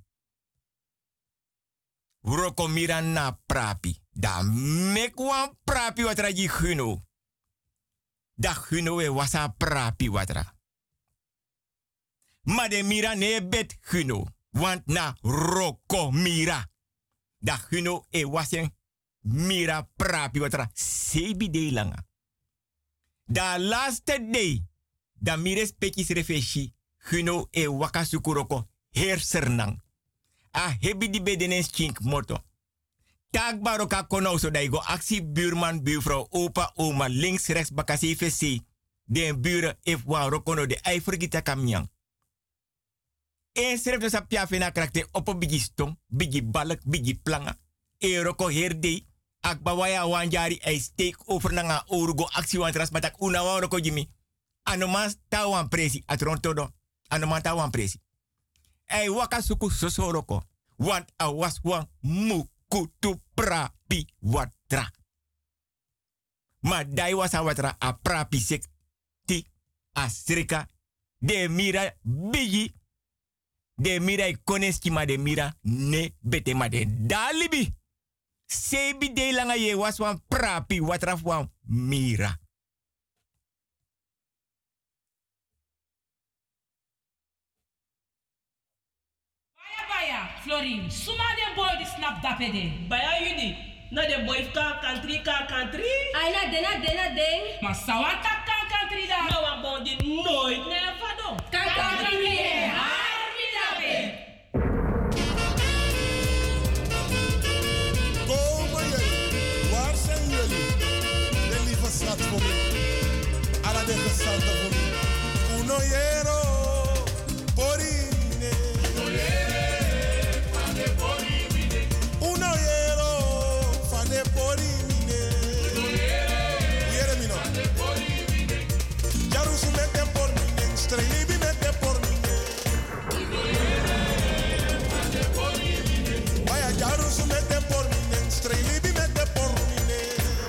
Speaker 6: Roko mira na prapi. Da mekwan prapi watra ji guno. Da guno e wasa prapi watra. Maar de mira ne bet guno. Want na roko mira. Da guno e wasen mira prapi watra. Sebi de langa. Da laatste day. Da mires pekis refeshi. Guno e waka sukuroko hersernang. A hebi di bedenes chink moto. Tak baroka kono so da go actie buurman, buurvrouw, opa, oma, links, rechts, bakasi, vc. Den buren if wa rokono de eifergita kamnyang. En seref dus apia fena karakter op bigi stong, bigi balk, bigi planga. E roko herde. Akba waya wanjari ei steek over nanga orugo actie wan transmatak una wa roko jimi. Anomas tawan presi atrontodo. Anoman tawan presi. Ei waka suku sosoroko. Want a was wan mukutu prapi watra. Ma dai was a watra a prapi sek ti a srika. De mira bigi. De mira ikoneski ma de mira ne bete ma de dalibi. Sebi de langa ye was wan prapi watra wan mira.
Speaker 13: Florin, suma de boy di snap dapede.
Speaker 14: Baya yudi, na de boy ka country.
Speaker 13: Ay na den. Ma sawata ka country da.
Speaker 14: No wa bondi nooit never do.
Speaker 13: Country ye, harmi dape.
Speaker 11: Komen jullie? Waar zijn jullie? De lieve schat voor me. Alla de gesante voor me. Uno yero, porine. Uno yero, fane porimine. Yeremino. Jarusu mete por mine, strelibi mete por mine. Vaya jarusu mete por mine, strelibi mete por mine.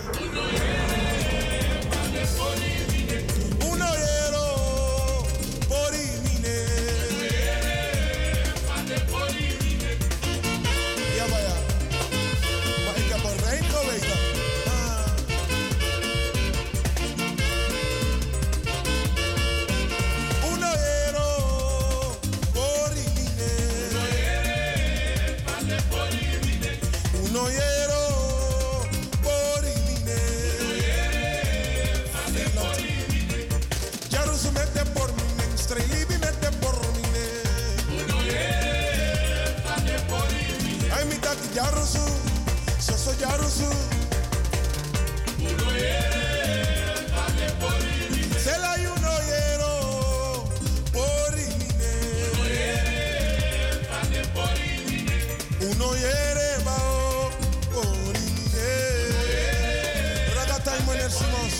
Speaker 11: Uno yero, porimine. Ja, vaya. Maar ik heb een rijm geweten. Uno ero porimine. Uno ero porimine. Jarusu mette por mine, strelibi mette por mine. Ay mi tati jarusu, soso jarusu. Se la uno yero porimine. Uno yere bao porimine. Ragata y meneer Simons.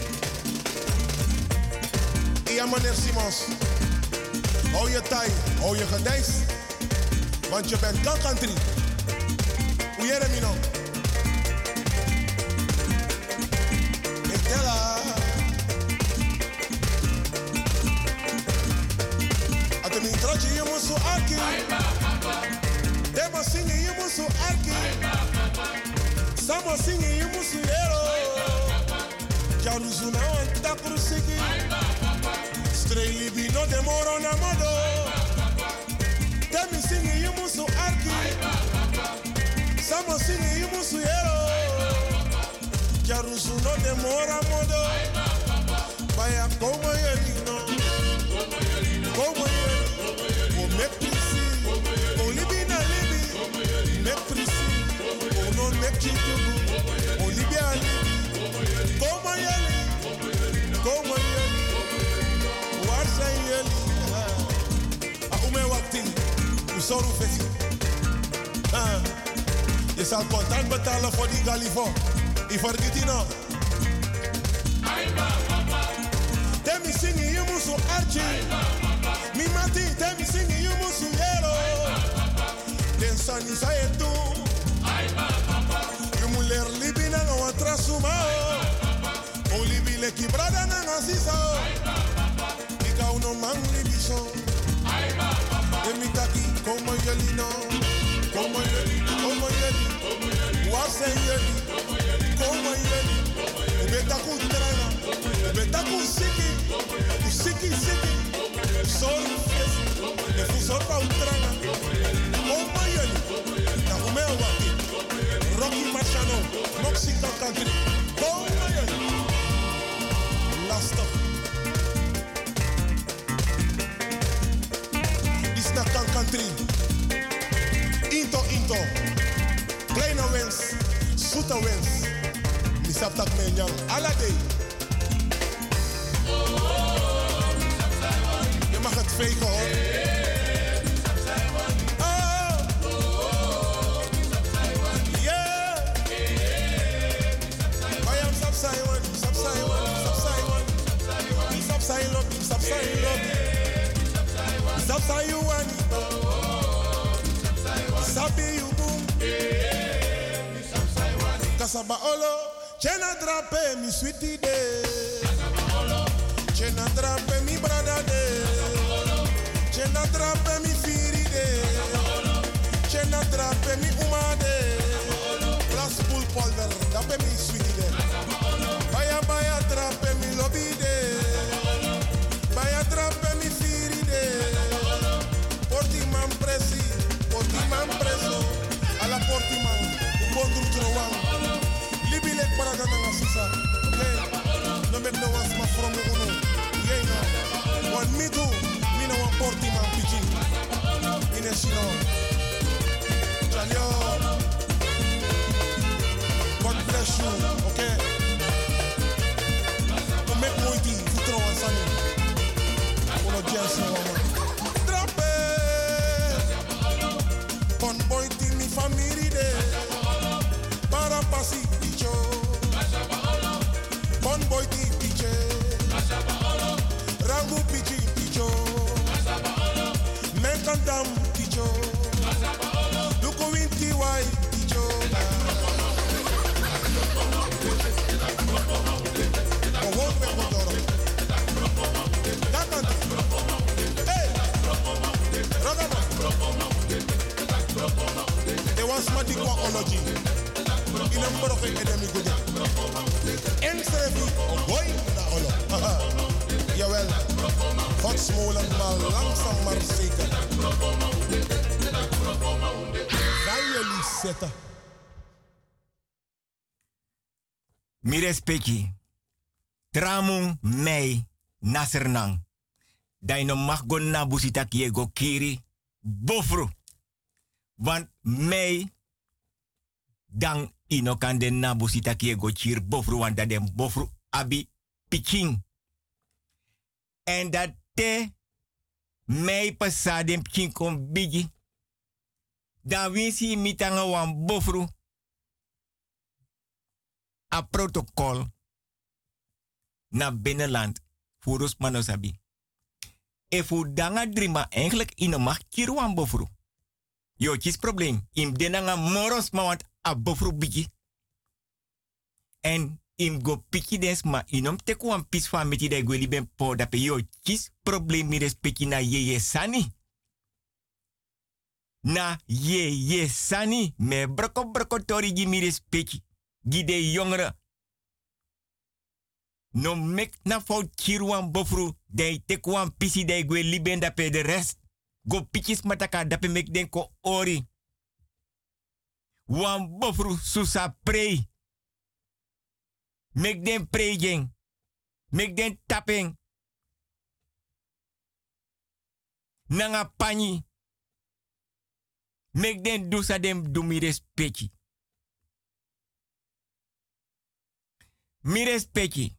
Speaker 11: Ja meneer Simons. Hou je taai, hou je gedijs. Want je bent country. Hoe jij me nou? Ik tel haar. Als je niet trotje, je moet zo arki. Demo zingen, je moet zo arki. Samo zingen, je moet zo hero. Jaruzu na want takuru siki. Streli bino de moro na modo. Demi zingen, je moet zo arki. no demora modo. Vaya como yeli no. Como yeli. O me prisi. O libi na libi. Me prisi. O no me chitubu. O libi a libi. Como yeli. Como yeli. Waar zijn jullie? Ume wakti. Usoru fesi. Je zal contant betalen voor die galifo. Ik vergeet die nog. Temi singi you musu archi. Mi mati temi singi you musu yero. Den sani sa etu. You mu ler libi na nga trasuma. O libi le kibrada na nga sisa. Ika uno man libi so. Temi taki como yeli no. Como yeli, como yeli. Wase yeli. Como yeli. Ubeta kutrana. Ubeta kusiki. Kusiki siki. Sol fesi. Le fusor pa utrana. Como yeli. Na umeo waki. Rocky Marciano. Mexican country. Como yeli. Last up. This na country. Into. Kleine wens, zoete wens. Misap tak menjang ala day. Je mag het vegen hoor. Yeah. Bayam sapsai one, sapsai one, sapsai one. Sapsai lobby, sapsai lobby. Sapsai you one. Sabi you boom. Kasaba olo, chena drape mi sweetie de. Chena drape mi brada de. Chena drape mi firi de. Chena drape mi uma de. Plus pool polder, drape mi sweetie de. Baya drape mi lobby de. Baya drape mi firi de. Portiman presi. Portiman preso, a la Portiman, un bon drutrouan. Libi lek para gana nga sisa, okay? No met no was ma from uno, yeah no. Wan me too, me no wan Portiman pichi. Ine sino, Chanyo. God bless you, okay? No met moiti, drutrouan sani. Uno jens no man. Con boy ti mi family de para pasi picho. Con boy ti piche. Rangu pichi picho. Men kantam picho. Luko winti wai picho. Oh, me kodoro. Kakanta. Hey. Ragama. They want smart technology. In a mboro ke edemi gude. Engstrevi boy na olo. Jawel. Hot small en mal langzaam maar zeker. Gaan jullie zetten.
Speaker 6: Mi respecti. Tramung mei nasernang. Dai no mag go na busita kie go kiri bofru. Want mei dan ino kan den na busita kie go chir bofru want dat den bofru abi piking. En dat te mei pasa den piking kon bigi. Dan winsi mitanga wan bofru a protocol na binnenland voor manosabi. E fu danga drima eigenlijk ino mag chir wan bofru. Yo, chis probleem. Im denanga moros ma want a bofru bigi. En im go piki des ma inom teku an pis fa meti de gweli ben po dape yo chis probleem mi respecti na ye sani. Na ye sani me broko tori gi mi respecti. Gi de jongere. No mek na fout kirwan bofru de teku an pisi de gweli ben dape de rest. Go pikis mataka dape mek den ko ori. Wan bofru susa prei. Make den praying. Make den tapping. Nanga pani. Make den do sa dem do mi respecti. Mi respecti.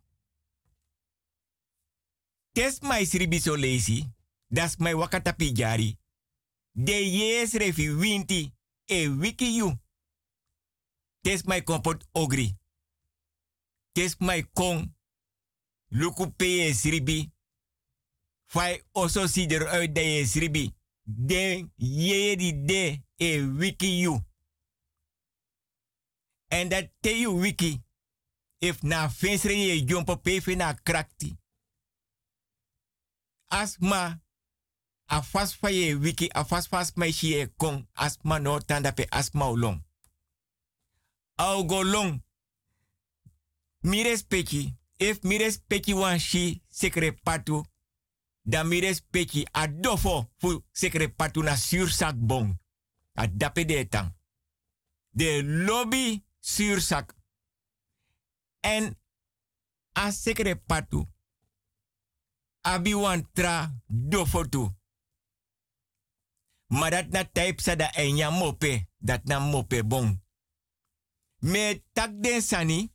Speaker 6: Tes mai sribi so lazy. Das mai wakata pijari. De yes refi winti e wiki you. Tes mai kompot ogri. Tes mai kong. Luku peye sribi. Fai oso si eruit dat je sribi. De ye di de e wiki you. En dat te you wiki. If na fensre je jompo pefe na krakti. Asma. A fast fa ye wiki. A fast mai shi e kong. Asma no tanda pe asma ulong. Au go long. Mi respecti. If mi respecti wan shi sekre patu. Dan mi respecti a dofo fu sekre patu na sursak bon. A dape de tang. De lobby sursak. En a sekre patu. Abi wan tra dofo tu. Maar dat na type sa da enya mope. Dat na mope bon. Me tak den sani.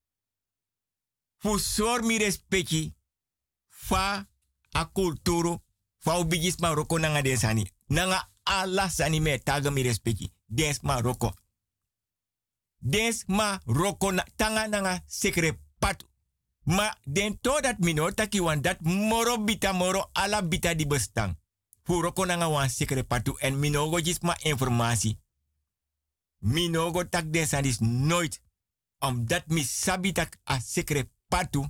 Speaker 6: Fu sor mi respecti. Fa a kulturu. Fa ubigis Maroko nanga den sani. Nanga ala sani me taga mi respecti. Des Maroko. Des Maroko na tanga nanga sekre patu. Ma den to dat mino taki wan dat moro bita moro ala bita di bestang. Fu roko nanga wan sekre patu en minogo jisma informatie. Minogo tak den sandis nooit. Omdat mi sabi tak a sekre patu.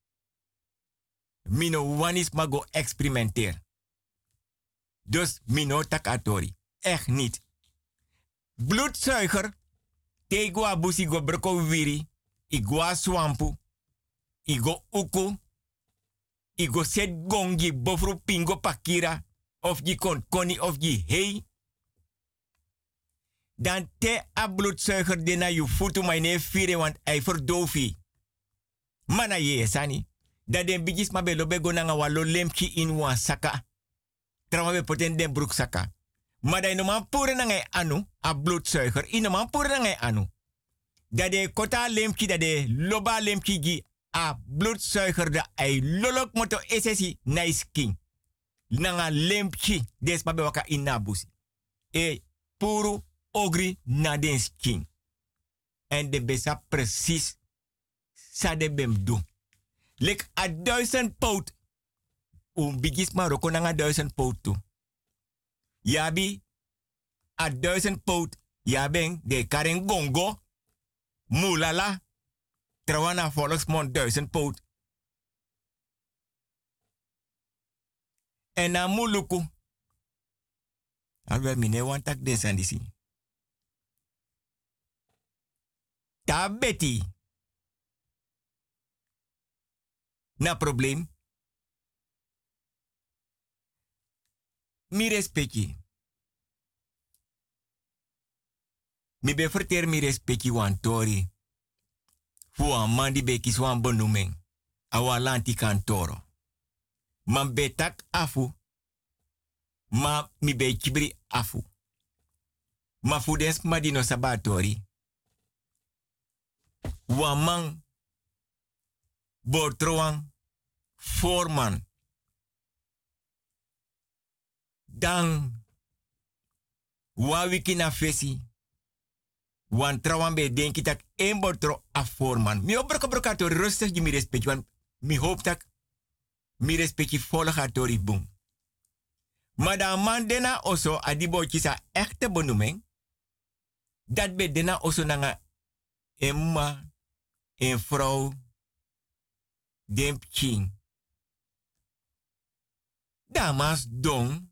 Speaker 6: Mino wanis mago experimenteer. Dus mino tak atori. Echt niet. Bloedzuiger. Tegua busi go broko wiri. Igua swampu. Igo uku. Igo set gongi bofru pingo pakira. Of je koni of je hei. Dan te a bloedzuiger de na je voeten maar ne vire want hij verdoofie. Mana ye sani. Dat den bigis ma belo bego nanga walo lemki in wan saka. Trauma be poten den broek saka. Maar dat man pure nanga anu. A bloedzuiger. In man pure nanga anu. Dat de kota lemki dat de loba lemki gi. A bloedzuiger da ai lolok moto esesi nice king. Nanga lempchi des ma be waka inabusi. E puru ogri na den king. En de besa precies sa de bem do. Lek a 1000 poot. Bigis Maroko nanga 1000 poot tu. Yabi a 1000 poot. Yabeng de karen gongo. Mulala. Trawana volksmond 1000 poot. En na muluku. Alwe mine wantak desandisi. Ta beti. Na probleem. Mi respecti. Mi be verter mi respecti wan tori. Fu an man di bekis wan benoeming. Awa lanti kantoro. Man betak afu. Ma mi be kibri afu. Ma fu des madino sabatori. Wan man. Bortroan. Voorman. Dan. Wa wiki na fesi. Wan trawan be denki tak een bortro a voorman. Mi obroko tori rustig je mi respect. Want mi hoop tak mi respecti volga tori boom. Maar dan man dena oso adibo kisa echte benoeming. Dat be dena oso nanga emma, een vrouw, demp king. Damas don.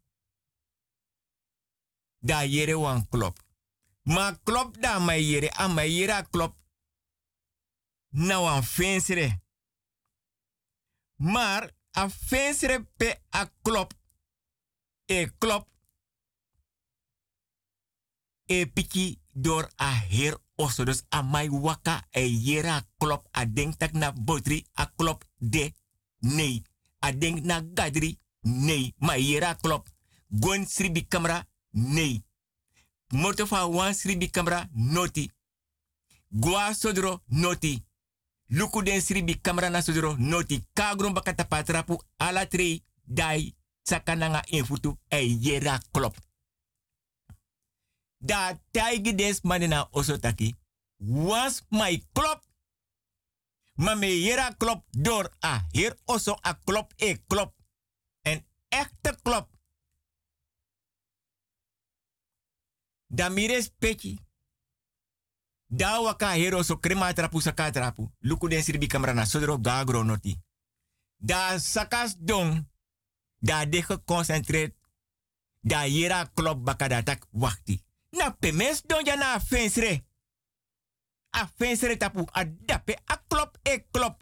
Speaker 6: Da yere wan klop. Ma klop da ma yere, a ma yere klop. Na wan fensere. Maar a fensere pe a klop. E klop. E piki door a heer oso. Dus a mai waka e yera klop. A denk tak na botri a klop de. Nee. A denk na gadri. Nee. Ma yera klop. Gon sribi camera. Nee. Moto fa wan sribi camera. Noti. Gwa sodro. Noti. Luku den sribi camera na sodro. Noti. Kagron bakata patrapu. Ala trei. Dai. Sakananga infutu. E yera klop. Da taigi des manena osotaki. Was my klop. Ma me yera klop door a heer oso a klop e klop. Een echte klop. Da mires peki. Da waka heer oso krema trapu saka trapu. Luku den sirbi kamera sodro gagro noti. Da sakas don. Da de geconcentreerd. Da yera klop bakada tak wachti. Na pemes don ja na fensre. A fensre tapu a dape a klop e klop.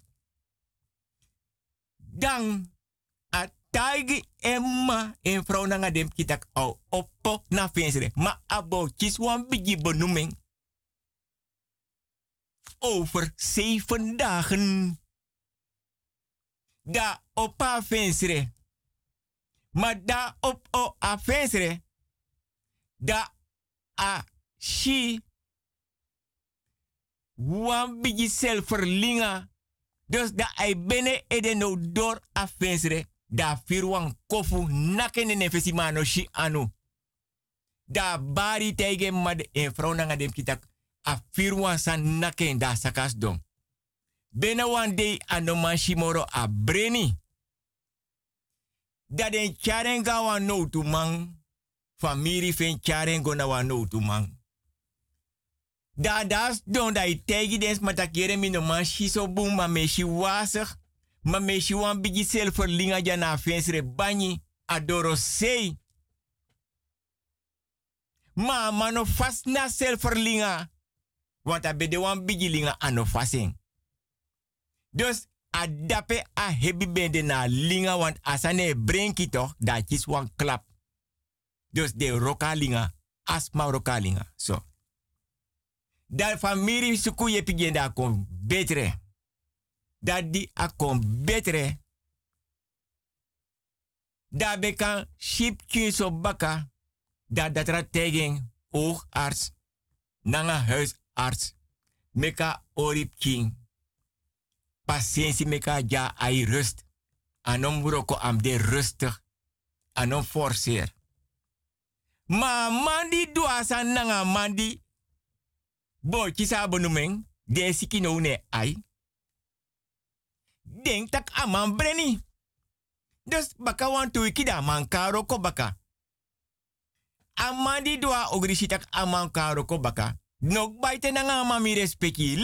Speaker 6: Dan a taigi emma en vrouw nanga dem kitak au oppo na fensre. Ma abo chiswan bigi benoeming. Over 7 dagen. Da oppa fensre. Ma da op o a fensre. Da a shi wan bigi selverlinga. Dus da ai bene ede no door a fensre. Da firwan kofu nakene nefesi mano shi anu. Da bari tege mad en vrouw nanga dem kitak. A firwan san naken da sakas don. Bene wan day anoman shimoro a breni. Da den charenga wan no tu man. Famiri fen charengo na wan no tu man. Da das don da i tegi des matakere mi no man shiso boom ma me shi wasig. Ma me shi wan bigi selverlinga jana fensre banyi. Adoro sei. Ma mano fast na selverlinga. Want a bede wan bigi linga ano fasing. Dus a dape a hebi bende na linga want asane brenki toch da kis wan klap. Dus de roka linga asma roka linga. So. Da famiri suku ye pigenda kon betre. Dat di a kon betre. Da bekan ship so baka. Dat ra tegen oogarts. Nanga huisarts. Meka orip king. Patiëntie meka ja ai rust. Anom broko am de rustig. Anom forceer. Ma mandi duasa nanga mandi. Bo kisa bonumeng. De sikino ne ai. Denk tak aman breni. Dus baka wan tu ikida man karo ko baka. Amandi dua ogrishi tak aman karo ko baka. Nok baite nanga mami respecti.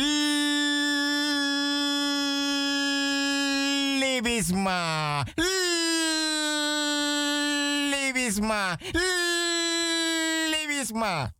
Speaker 6: Libisma. Libisma. Libisma.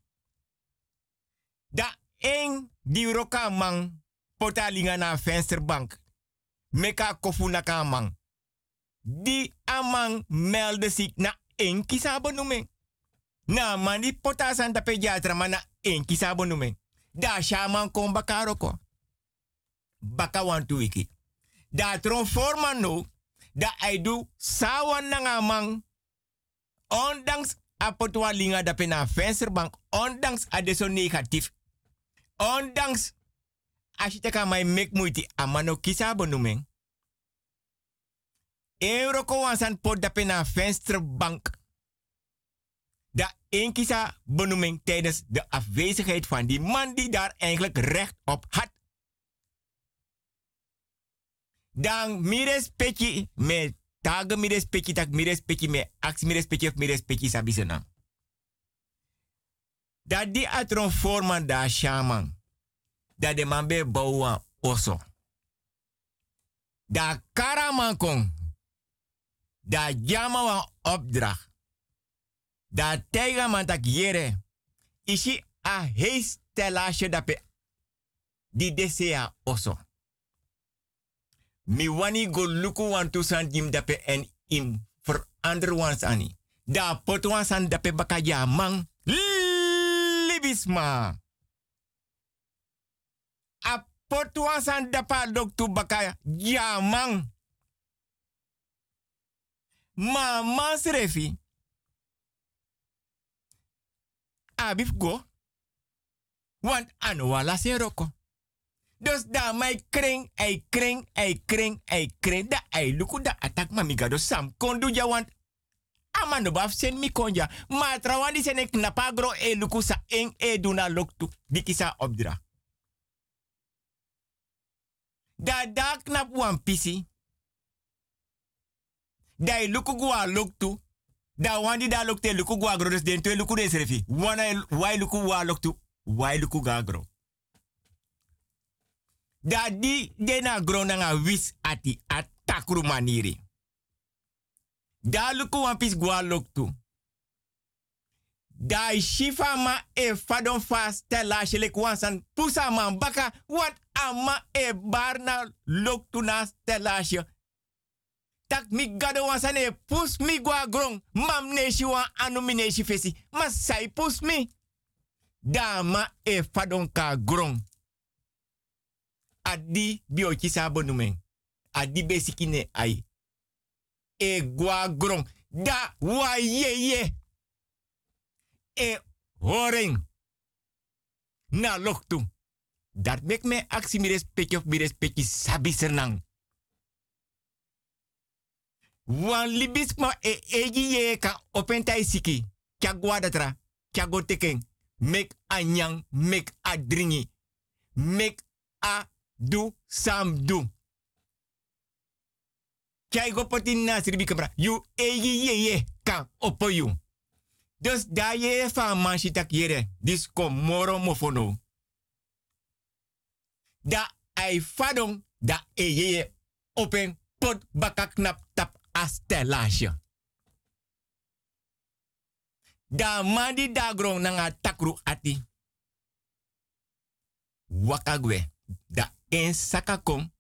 Speaker 6: Da eng di roka mang potalinga na vensterbank. Meka kofu na kamang. Di amang melde zich na eng kisabo nume. Na mani potasan tape jatra mana eng kisabo nume. Da shaman kon bakaroko. Baka wantu wiki. Da tron forma no. Da aidu sawan na ngamang. Ondanks apotwa linga dape na vensterbank. Ondanks adeso negatief. Ondanks ashitaka mai mek muiti amano kisabo numen. Euroko wansan pot dape na vensterbank. Da één kisa benoeming tijdens de afwezigheid van die man die daar eigenlijk recht op had. Dan mires peki me tage mires peki tak mires peki me ax mires peki of mires peki sabisena. Da di atron forman da shaman. Da de man be bouwan oso. Da karaman kong. Da jama wan opdracht. Da teiga man tak yere. Ishi a heis telasje dape. Di desea oso. Mi wani go luku wan tusan jim dape en im verander wans ani. Da pot wansan dape bakaja man. libisma. A potuan san dapa doktu baka jamang. Ma mas refi. Abif go. Want anu wala se roko. Dus da mai kring, ei kring, ei kring, ei kring. Da ei luku da atak mamigado sam kondu ja want. Amando baf sen mi konja. Ma trawandi sen ek napagro e luku sa eng e duna loktu. Dikisa obdra. Da knap wan pisi. Da e luku gua loktu. Da wandi da lokte luku gua gro des den to luku des refi. Wana wai luku wa loktu. Wai luku ga gro. Da di dena gro nga wis ati atakru maniri. Da luku wan pis gua loktu. Da shifa ma e fadon fast tela shelek wansan pusa man baka wat ama e barna loktu na stela. Tak mi gado wansan e pus mi gua grong. Mam neshi wan anu mi neshi fesi. Ma sai pus mi. Da ma e fadon ka grong. Adi biochi sabonumen. Adi besikine ai. E gua grong. Da wa ye. E horing. Na loktu. Dat mek me aksi mi respecti of mi respecti sabi sernang. Wan libis ma e eji ye ka opentai siki. Kya guadatra. Kya go teken. Mek anyang. Mek a dringi. Mek a du sam du. Kya go potin na sirbi kamera. You eji ye ka opo you. Dus da je van manchitak jere. Dis kom moro mofono. Da ai fadong. Da je open pot baka knap tap astelage. Da mandi da grong nanga takru ati. Wakagwe. Da en sakakong.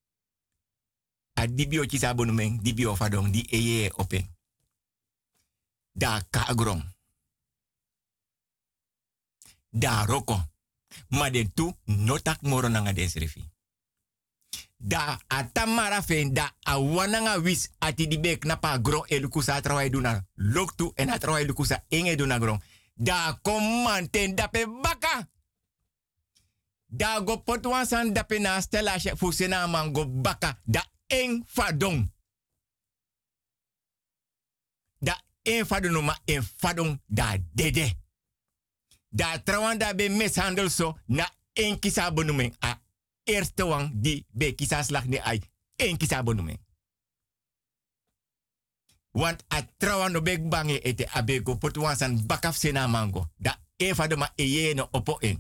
Speaker 6: A dibio chisa bonumeng. Dibio fadong. Di je open. Da ka grong. Da roko. Ma den tu notak moro nanga desrefi. Da atamara fen da awananga wis ati di bek napa gro elukusa trawai duna loktu en atrawai lukusa enge duna grong. Da komanten dape baka. Da go potwan san dape na stela fusena mango baka. Da eng fadong. Da eng fadong ma eng fadong da dede. Da trawanda be mishandel so na en kisa bonumen a eerste wang di be kisa slag ni ai en kisa bonumen. Want a trawando bek bange ete abego potuan san bakaf sena mango. Da eva de ma eye no opo en.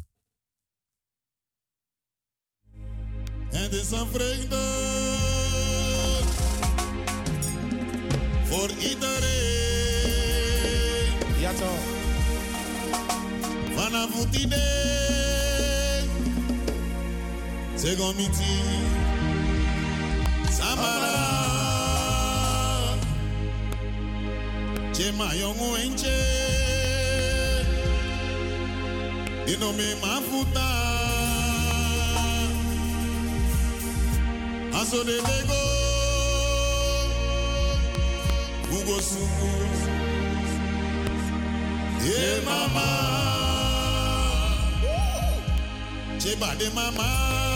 Speaker 11: Het is een vreugde voor iedereen.
Speaker 12: Ja toch.
Speaker 11: Vanaf het idee, Segomiti, Samara, Chema Yongu Enche, Inome Mafuta, Aso de Lego, Ugo Suku, Ye Mama. Cheba de mama,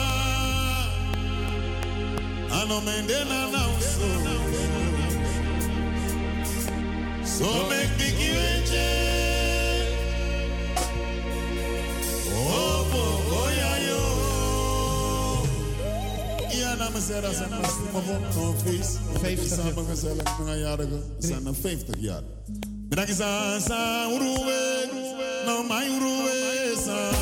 Speaker 11: ano mendena na uso. So make big iwenche, oh ya yo. Ja, dames en heren, zijn we feest. 50 samen gezellig met een jarige. Zijn 50 jaar. Bedankt sa uruwe, no my uruwe sa.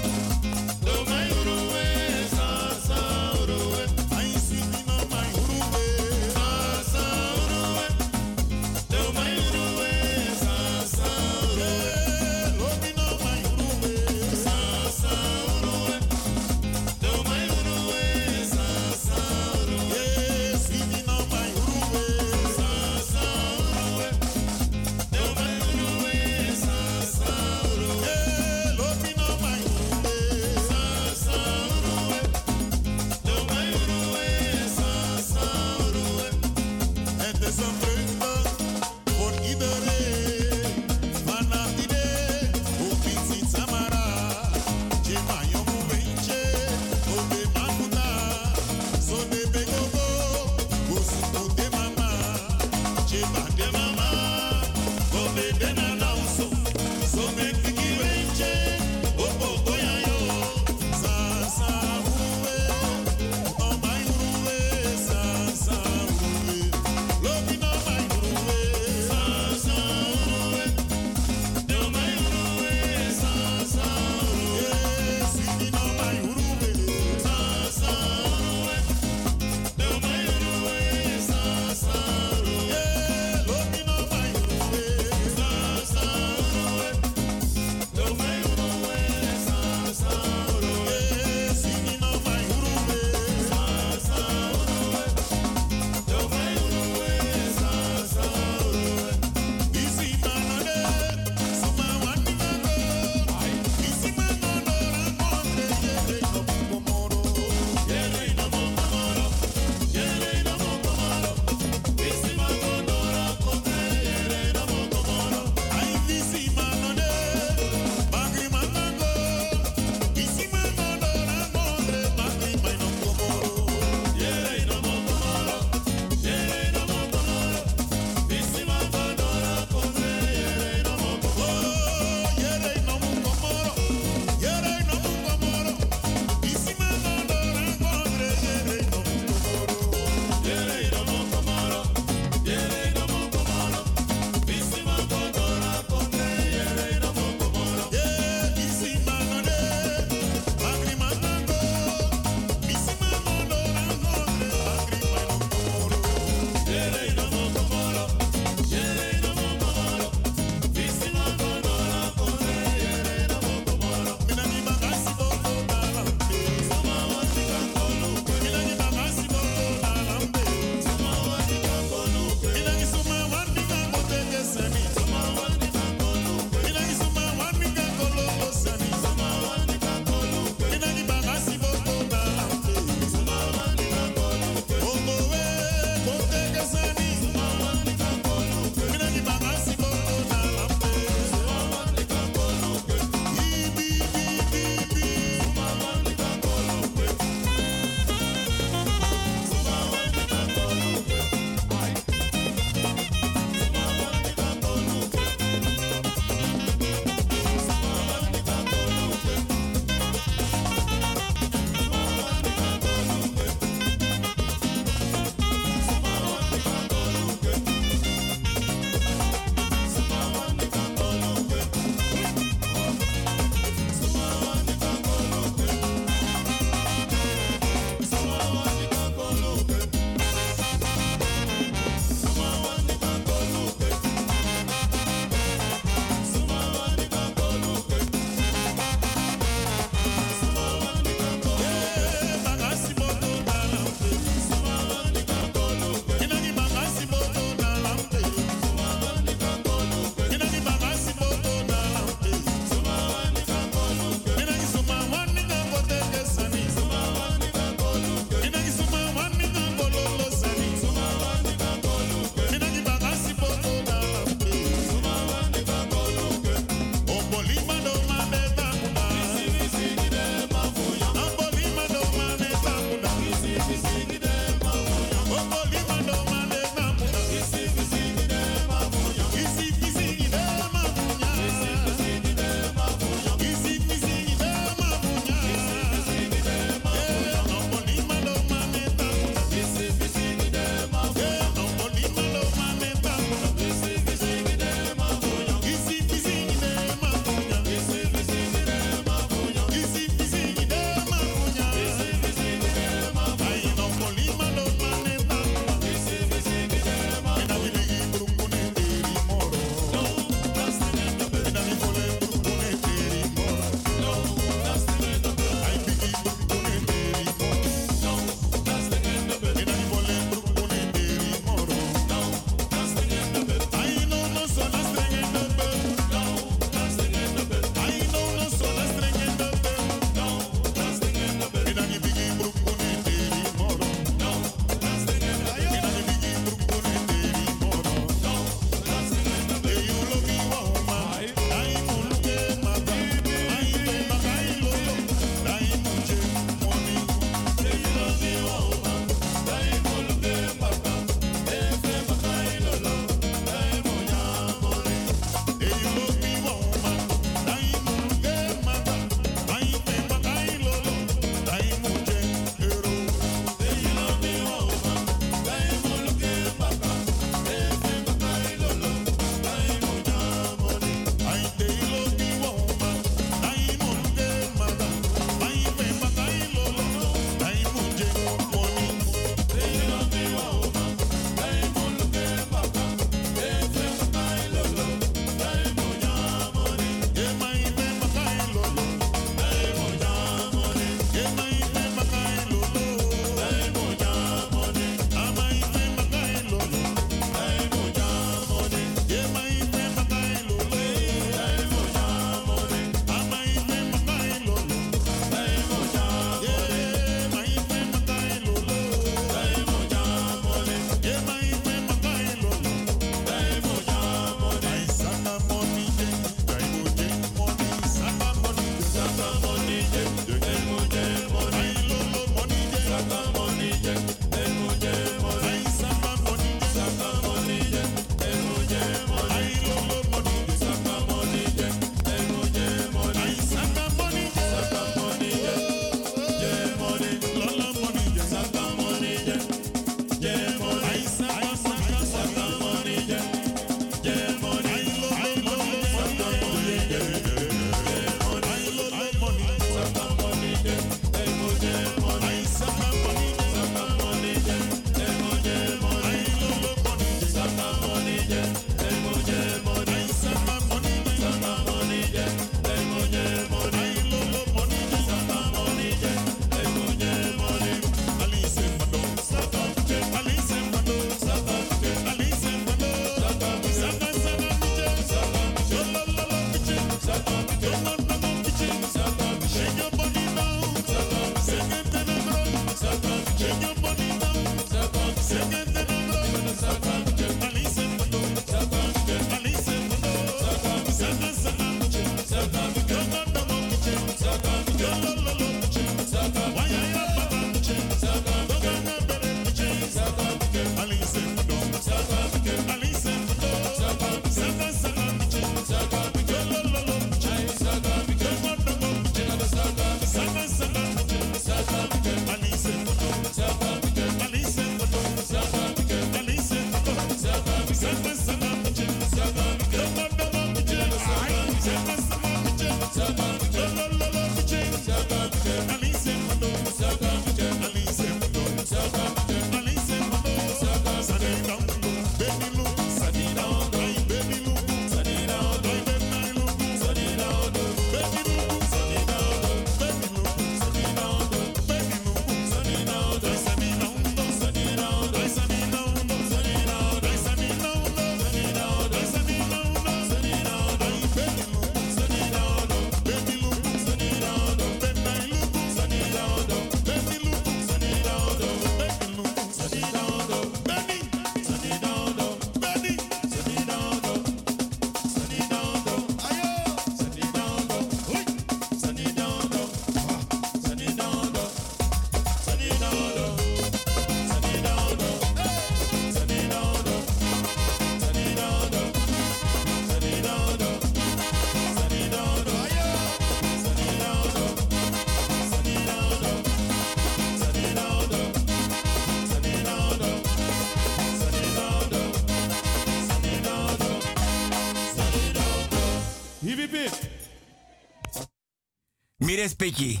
Speaker 6: Mi respecti.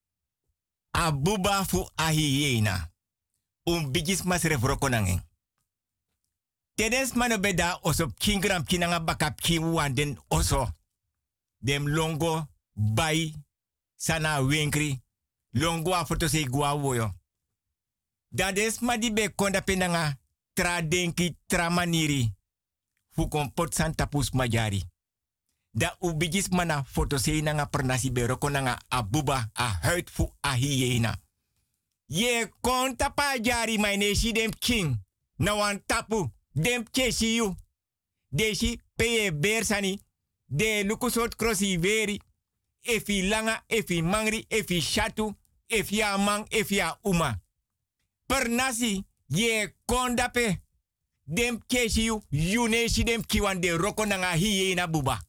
Speaker 6: Abuba fu ahiena. Bigis mas refrokonangeng. Tedes mano beda oso kingram kinanga bakap ki wanden oso. Dem longo bai sana winkri. Longo a foto se gua woyo. Dades madi be konda penanga tra denki tra maniri. Fu kompot santa pus majari. Da ubigis mana foto se nanga pernasi be rokonanga abuba a huid fu ahiena. Ye konta pa jari my neshi dem king. Na wan tapu. Dem chesi you. Deshi peye bersani. De lukusot crossi veri. Efi langa, efi mangri, efi shatu. Efi amang, efi a uma. Per nasi, ye kondape. Dem chesi you. You neshi dem kiwan de roko nanga hiye na buba.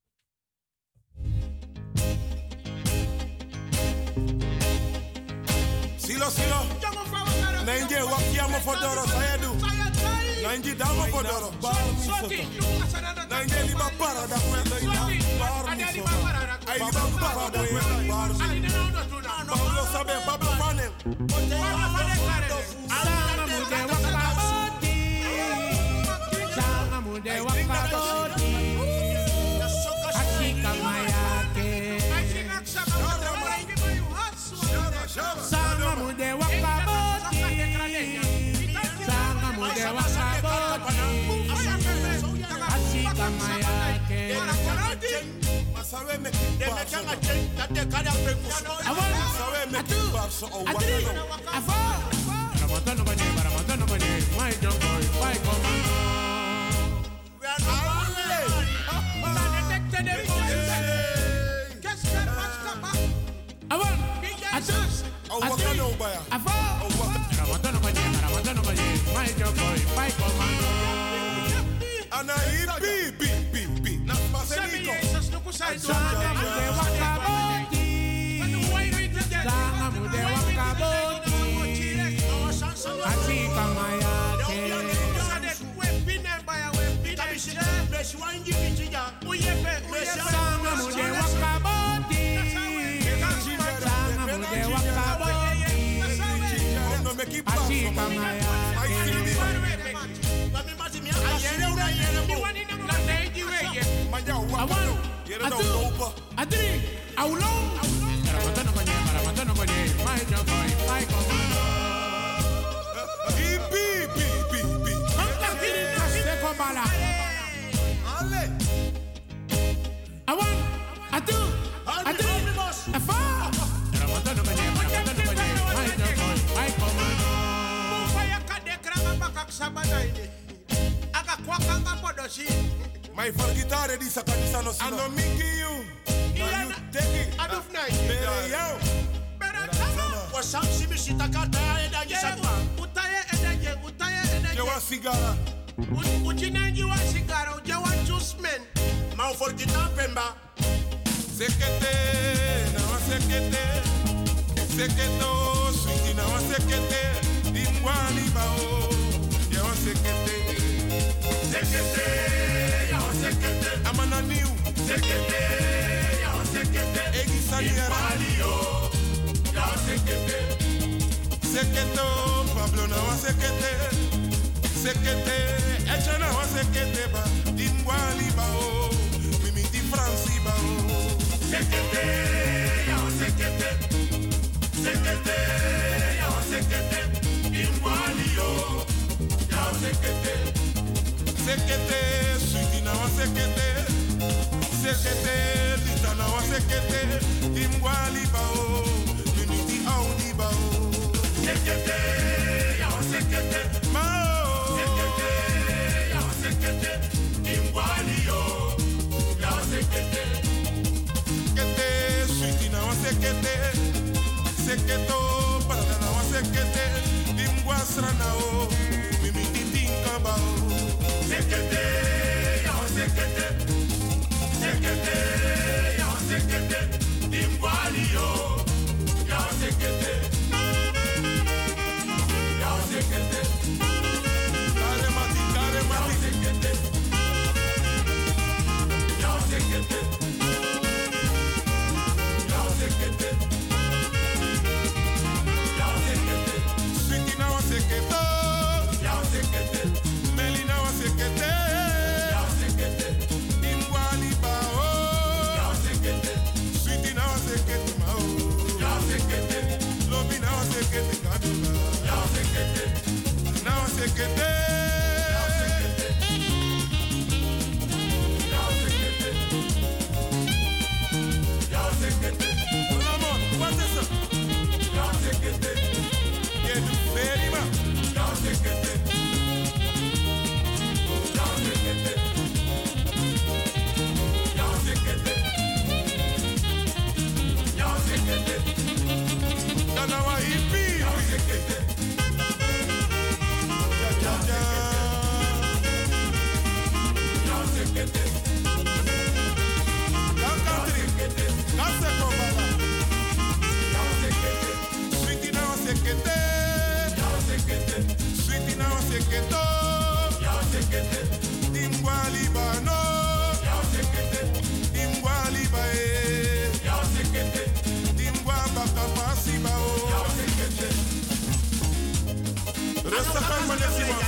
Speaker 12: Silo. Nainje wakiamo fodoro sayedu. Nainje damo fodoro. Nainje liba para da kwenda ina. Ai liba para da kwenda. Pablo sabe, Pablo fane.
Speaker 10: Sanga mude wakaboti. Achika mayake. Sanga mude wakaboti. Sanga mude wakaboti. Achika mayake.
Speaker 12: Sawe me demekanga chen tate kada pekuso. Sawe me barso o
Speaker 10: Afo. Ramontano bani, my young boy, my commando. We are
Speaker 12: My for guitar di sakadisa no sino. Ano miki you. Now you take it. Aduf na. Yo. Wasam simi sitakata eda gisabu. Utaye eda. Jawa sigara. Ujinenji wa sigara, ujawa juice men. Ma for guitar pemba. Sekete, na wa sekete. Seketo, swingi na wa sekete. Dimwani bao. Jawa sekete. Sekete, yawa sekete. Amana niu. Sekete, yawa sekete. Egisani radio. Yawa sekete. Seketo, Pablo na wa sekete. Sekete, echa na wa sekete ba. Dimwali bao. Mimi di Franci bao. Sekete, yawa sekete. Sekete, yawa sekete. Dimwali yo. Yawa sekete. Sekete, sweetie na wa sekete. Sekete, lita na wa sekete. Dimwali bao, unity audi bao. Sekete, ya wa sekete. Mao. Sekete, ya wa sekete. Dimwali yo, ya wa sekete. Sekete, sweetie na wa sekete. Seketo, para na wa sekete. Dimwasra na o, mimi titinka bao. Sekete, ya wa sekete. Sekete, ya wa sekete. Dimwali yo, ya wa sekete. Ya wa sekete. Kare mati. Sekete. Ya wa sekete. Ya wa sekete. Berima. Yao sekete. Yao sekete. Yao sekete. Yao sekete. Danawa hippie. Yao sekete. Ja ja ja. Yao sekete. Yao country. Yao sekobala. Yao sekete. Sweetie now sekete. Yao sekete. Sweetie now seketo. Yao sekete. Dimwa libano. Yao sekete. Dimwa libae. Yao sekete. Dimwa bakapasi bao. Yao sekete. Rustig aan, meneer Simon.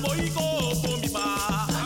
Speaker 15: boiko for mi ba.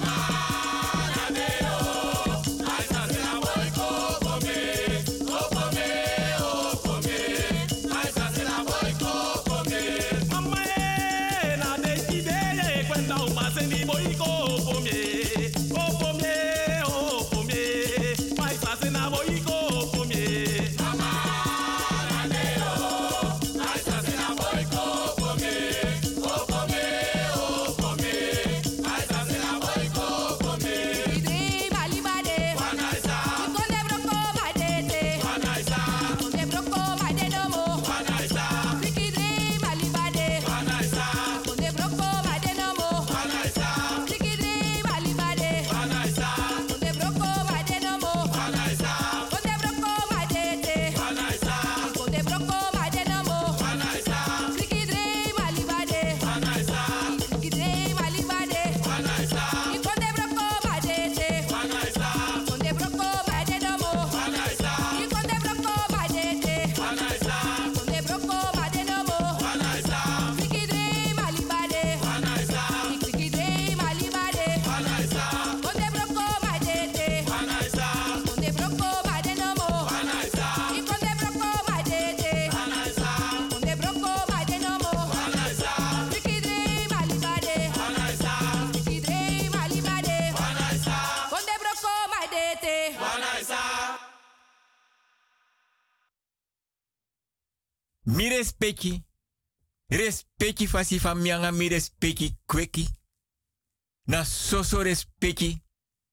Speaker 6: Mi respecti fasi van mianga mi respecti kweki. Na soso respecti.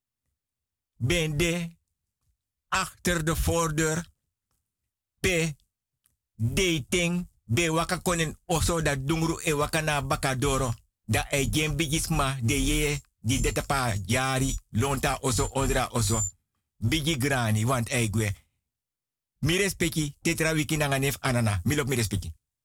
Speaker 6: Bende achter de voordeur. Pe dating. Be waka konen oso da dungru e waka na bakadoro. Da e jen bigisma de ye di detapa jari lonta oso odra oso. Bigi grani want eigwe. Mi respecti tetra wiki nanga nef anana. Mi lop mi respecti.